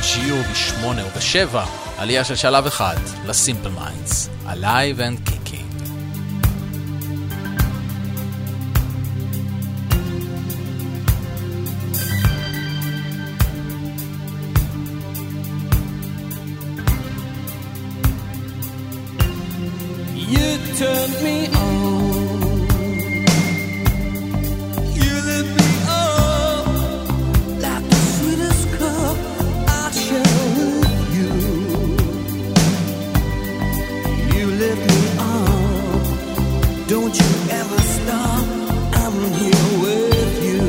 Speaker 3: שיעור ב8 וב7, עלייה של שלב אחד לסימפל מיינדס, Alive and Kicking.
Speaker 6: You turned me on. You lit me up like the sweetest cup I share with you. You lit me up. Don't you ever stop. I'm here with you.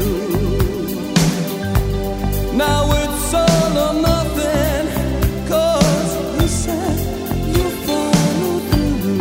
Speaker 6: Now it's all or nothing, 'cause you said you follow through.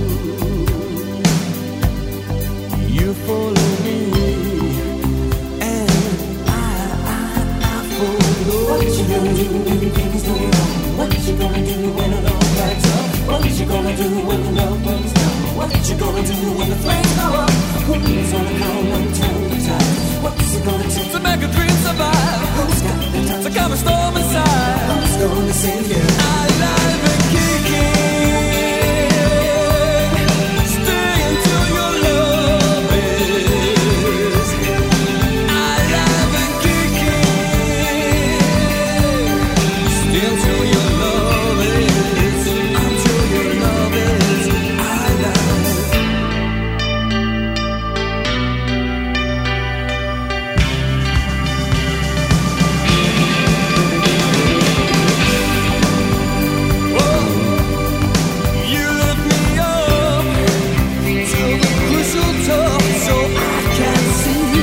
Speaker 6: You follow me, and I follow. What you gonna do when things go wrong? What you gonna do when it all backs up? What you gonna do when the love burns down? What you gonna do when the flames go up? Who's gonna come and turn the tide? What's it gonna take to make a dream survive? Who's got the time to calm a storm inside? Who's gonna save you? Alive and kicking. Stay until your love is alive and kicking. Stay until your love is, until your love is alive. You lift me up to the crucial top so I can see.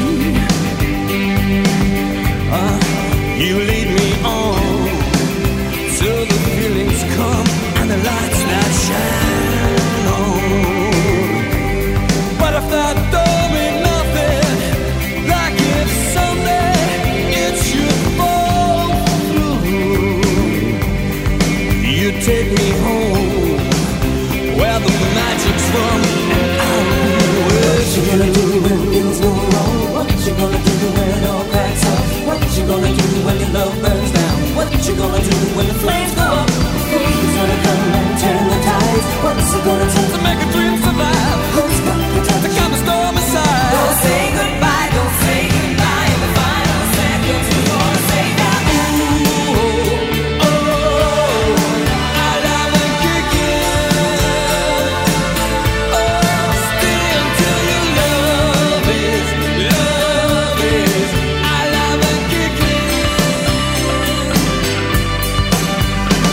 Speaker 6: You lead me on till the feelings come and the lights that shine on. But if that don't mean nothing, like if someday it should fall through, you take me home where the magic's from, and I'll be with you. What you gonna do when things go wrong? What you gonna do when it all cracks up? What you gonna do when your love burns down? What you gonna do when the flames go up? Who's gonna come and turn the tides? What's it gonna take to make a dream survive? Who's got the time to calm a storm inside? Don't say goodbye, don't say goodbye. In the final seconds, we gonna say that. Ooh, oh, alive and kicking. Oh, stay until your love is alive and kicking.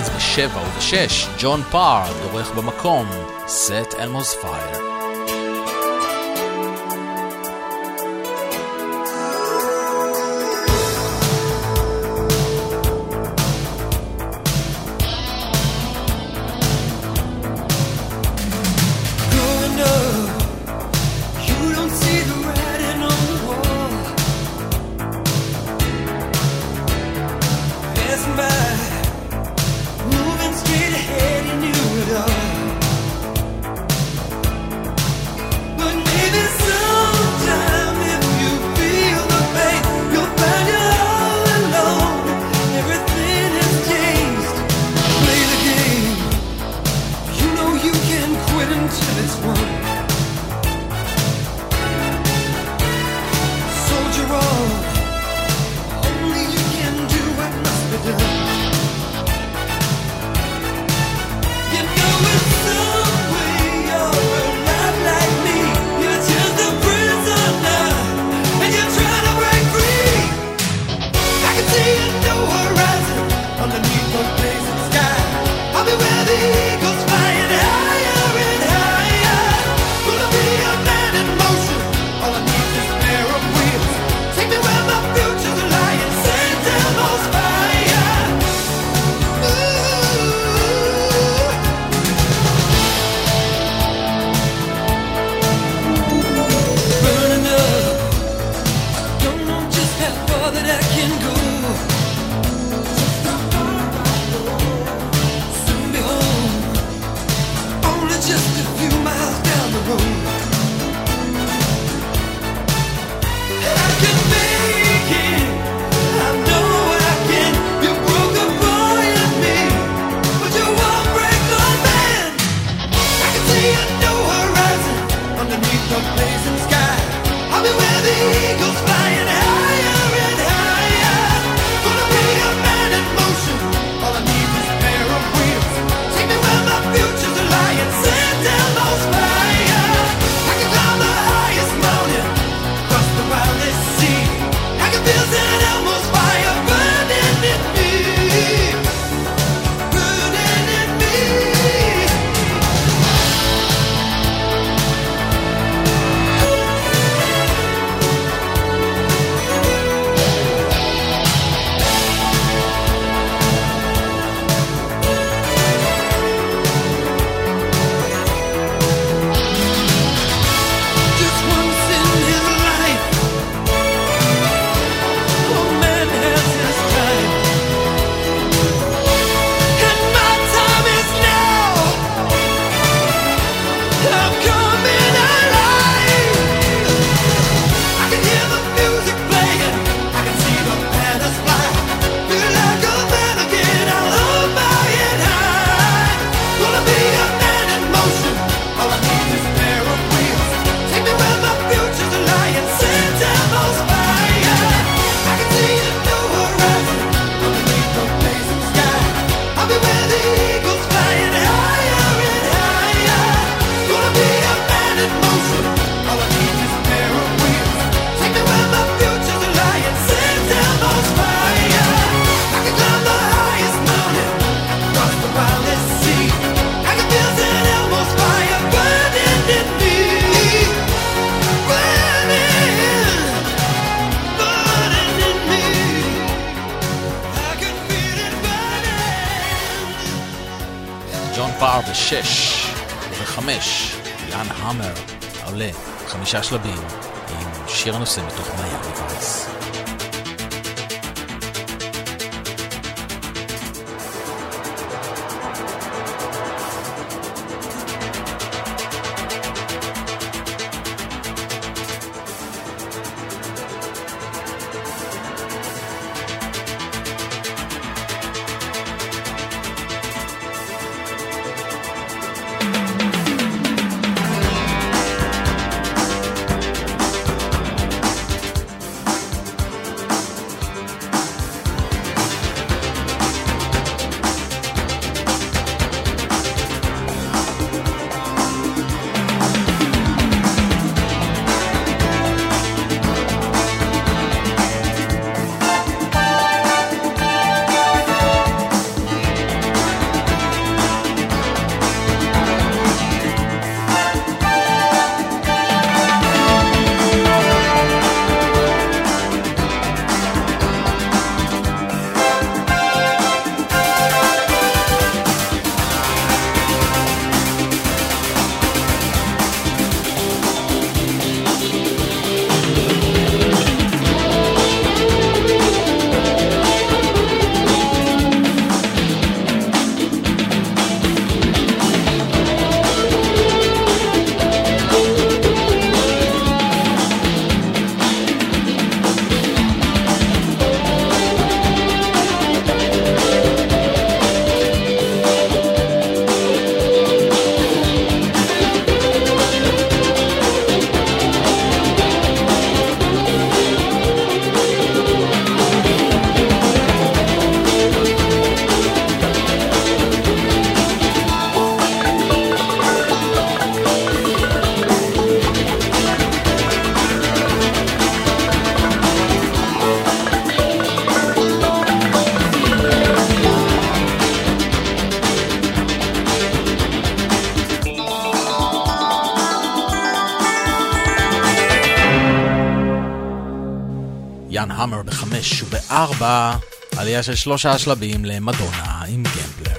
Speaker 3: אז ב7 וב6, ג'ון פאר דורך במקום, Set Elmo's Fire.
Speaker 6: Growing up, you don't see the writing on the wall. Passing by, moving straight ahead, you knew it all. But maybe sometime if you feel the pain, you'll find you're all alone. Everything has changed. Play the game. You know you can quit until it's won. Soldier on. Only you can do what must be done. You know in some way you're alive like me. You're just a prisoner, and you're trying to break free. I can see a new horizon underneath the blazing sky. I'll be where the eagles flying higher and higher. Gonna be a man in motion. All I need is a pair of wheels. Take me where my future's lying. Set Elmo's fire. Burning up. Don't know just how far that I can go. Soon be home. Only just a few miles down the road. I can make it. I know I can. You broke a boy in me, but you won't break the man. I can see a new horizon underneath the blazing sky. I'll be where the eagles flying higher and higher. Gonna be a man in motion. All I need is a pair of wheels. Take me where my future's lying. Set Elmo's fire. I can climb the highest mountain, cross the wildest sea. I can feel Set Elmo's fire burning in me, burning in me. Just once in his life, a man has his time, and my time is now. I'm coming alive. I can hear the music playing, I can see the banners fly. Feel like a man again, I'll hold my head high. Gonna be a man in motion. All I need is a pair of wheels. Take me where my future's lying. Set Elmo's fire. I can see a new horizon underneath the blazing sky. I'll be where the eagles flying higher and higher. Gonna be a man in motion. All I need is a pair of wheels. Take me where my future's lying. Set Elmo's fire. I can climb the highest mountain, cross the wildest sea. I can feel Set Elmo's fire burning in me, burning, burning in me. I can feel it burning.
Speaker 3: ג'ון פאר ב6 וב5, יאן המר עולה 5 שלבים עם שיר הנושא מתוך מיאמי וייס.
Speaker 4: המר ב5 וב4, עלייה של 3 שלבים למדונה עם גמבלר.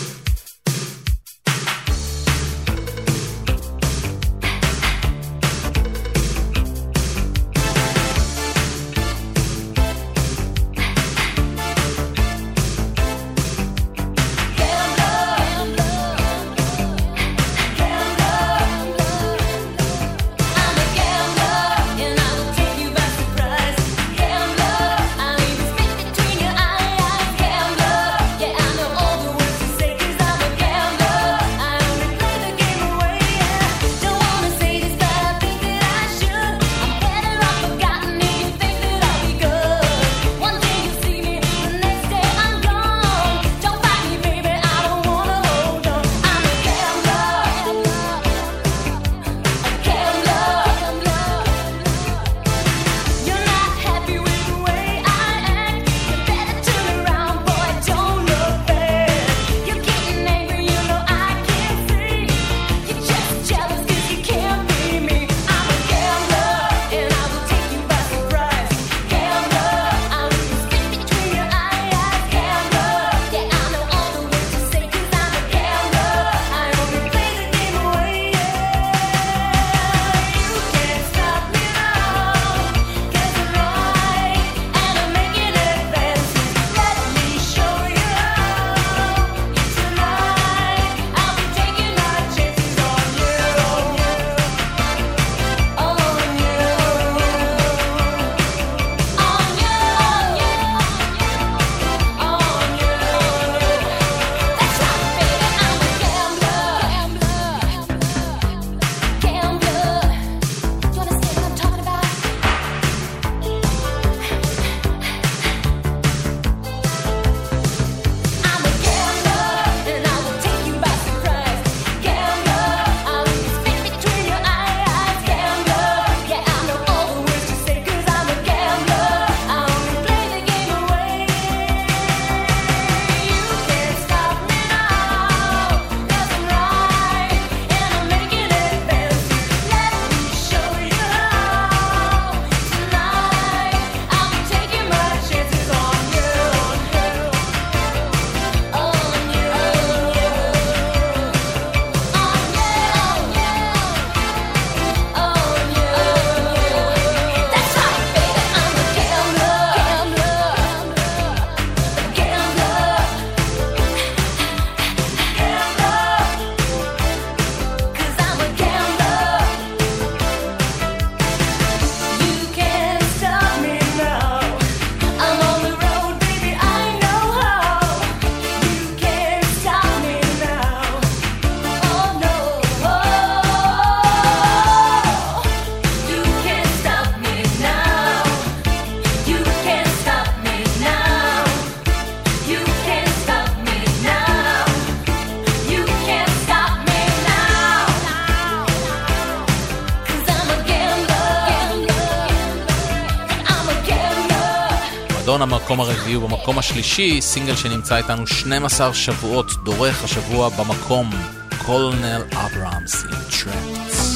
Speaker 4: המקום הרביעי ובמקום השלישי, סינגל שנמצא איתנו 12 שבועות, דורך השבוע במקום, קולונל אברהמס עם טרנדס.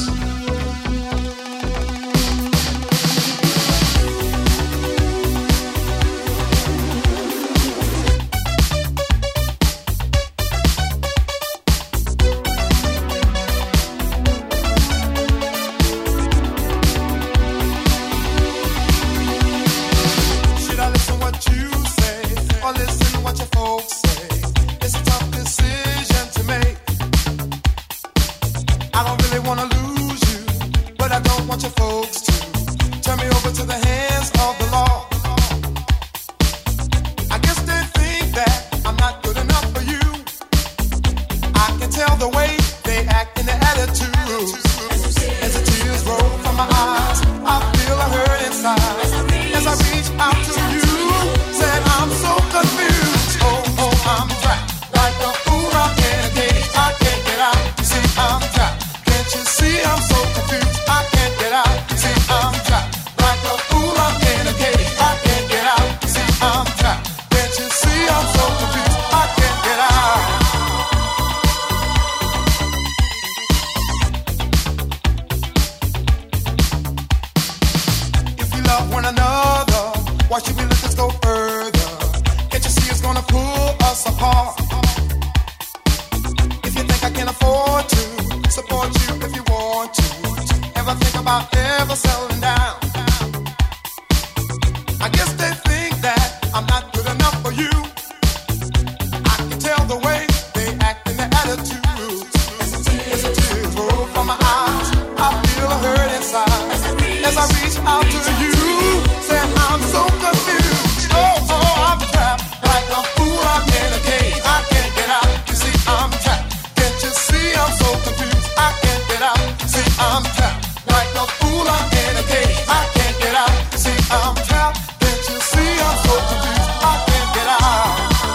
Speaker 11: can afford to support you if you want to. Ever think about ever settling down? I guess they think that I'm not good enough for you. I can tell the way they act and their attitudes. As the tears roll from my eyes, I feel a hurt inside. As I reach out to you, say I'm so confused. Oh, I'm trapped like a fool. I'm in a cage. I can't get out. You see, I'm trapped. Can't you see I'm so confused? I can't get out. See, I'm trapped like a fool. I'm in a cage. I can't get out. See, I'm trapped. Can't you see I'm so confused? I can't get out.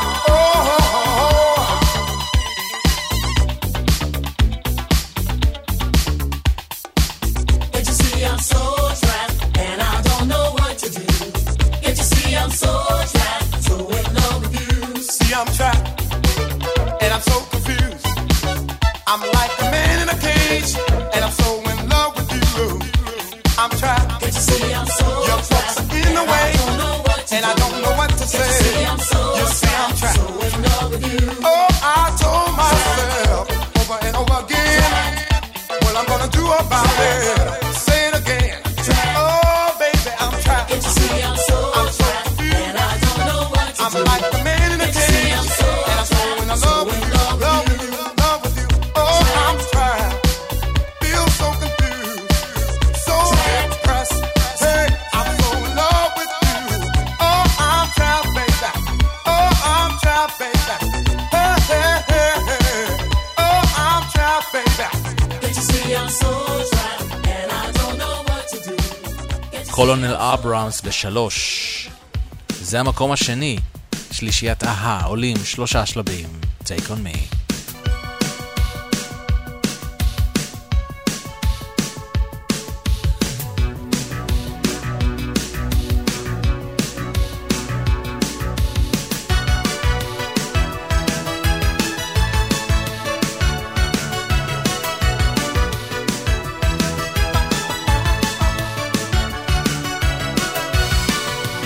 Speaker 6: Can't you see I'm so trapped and I don't know what to do? Can't you see I'm so trapped, so in love with you?
Speaker 11: See, I'm trapped and I'm so confused. I'm like a man in a cage and I'm so in love with you. I'm trapped.
Speaker 6: Can't you see I'm so
Speaker 11: Your folks are in the way and I don't know what to say. You see I'm trapped.
Speaker 6: so in love with you.
Speaker 11: Oh, I told myself over and over again what I'm gonna do about it. Say it again. Oh, baby, I'm trapped.
Speaker 6: Can't you see I'm so trapped and I don't know what to
Speaker 11: I'm
Speaker 6: do?
Speaker 11: like the man in a cage, and I'm so in love with you, love with you, love with you. Oh, I'm trapped, feel so confused, so depressed. Hey, I'm so in love with you. Oh, I'm trapped, baby. Oh, I'm trapped, baby. Hey, hey, hey, hey. Oh, I'm trapped, baby.
Speaker 6: Can't you see I'm so trapped and I don't know what to do?
Speaker 3: קולונל אברהמס ב3. זה המקום השני. שלישיית אהה, עולים 3 שלבים. Take on me.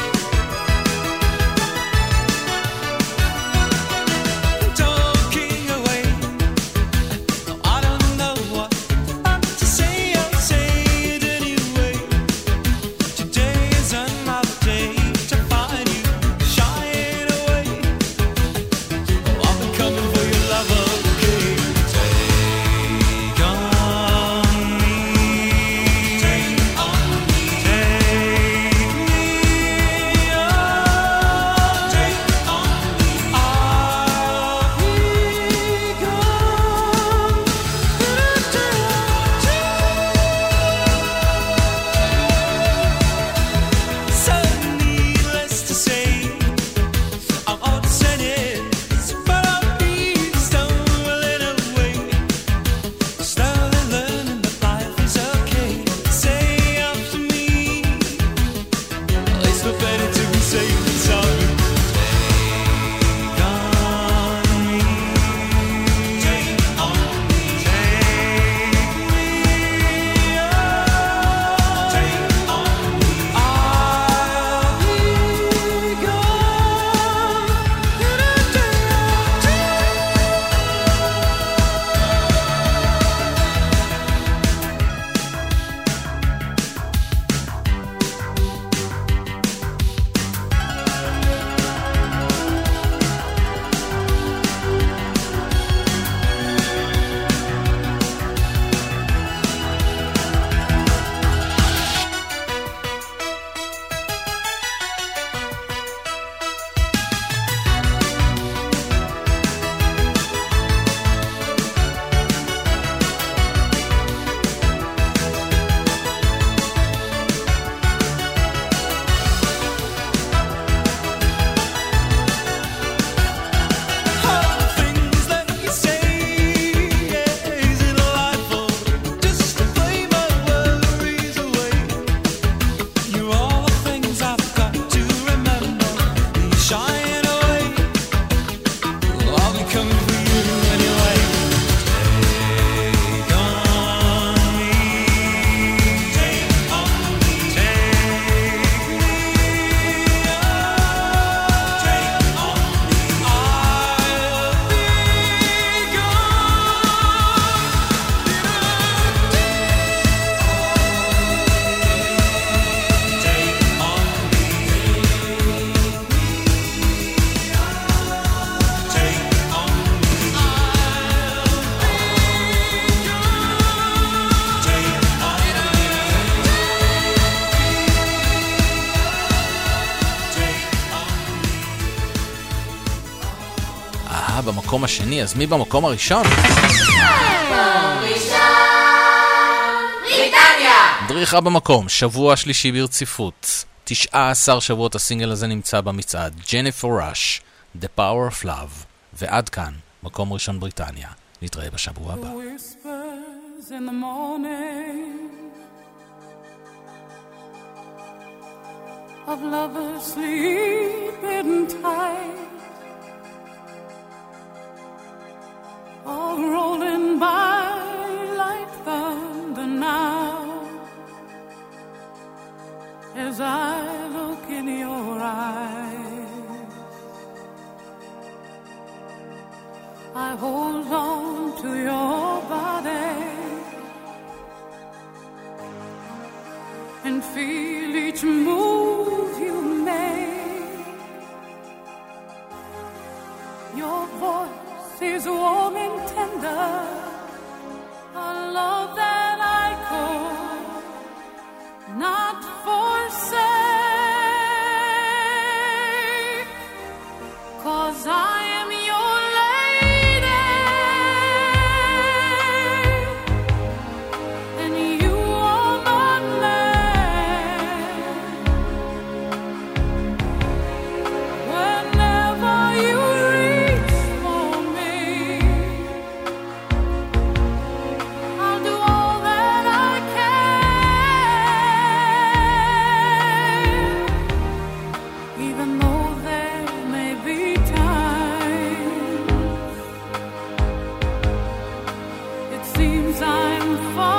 Speaker 6: Talking
Speaker 3: במקום השני, אז מי במקום הראשון? דריכה במקום, שבוע שלישי ברציפות. 19 שבועות הסינגל הזה נמצא במצעד. ג'ניפר ראש, The Power of Love. ועד כאן, מקום ראשון בריטניה. נתראה בשבוע הבא.
Speaker 12: Whispers in the morning of lovers sleeping tight are rolling by like thunder now as I look in your eyes. I hold on to your body and feel each move you make. Your voice is warm and tender, a love that I could not forsake, 'cause I am your lady and you are my man. Whenever you reach for me, I'll do all that I can, even though there may be times it seems I'm far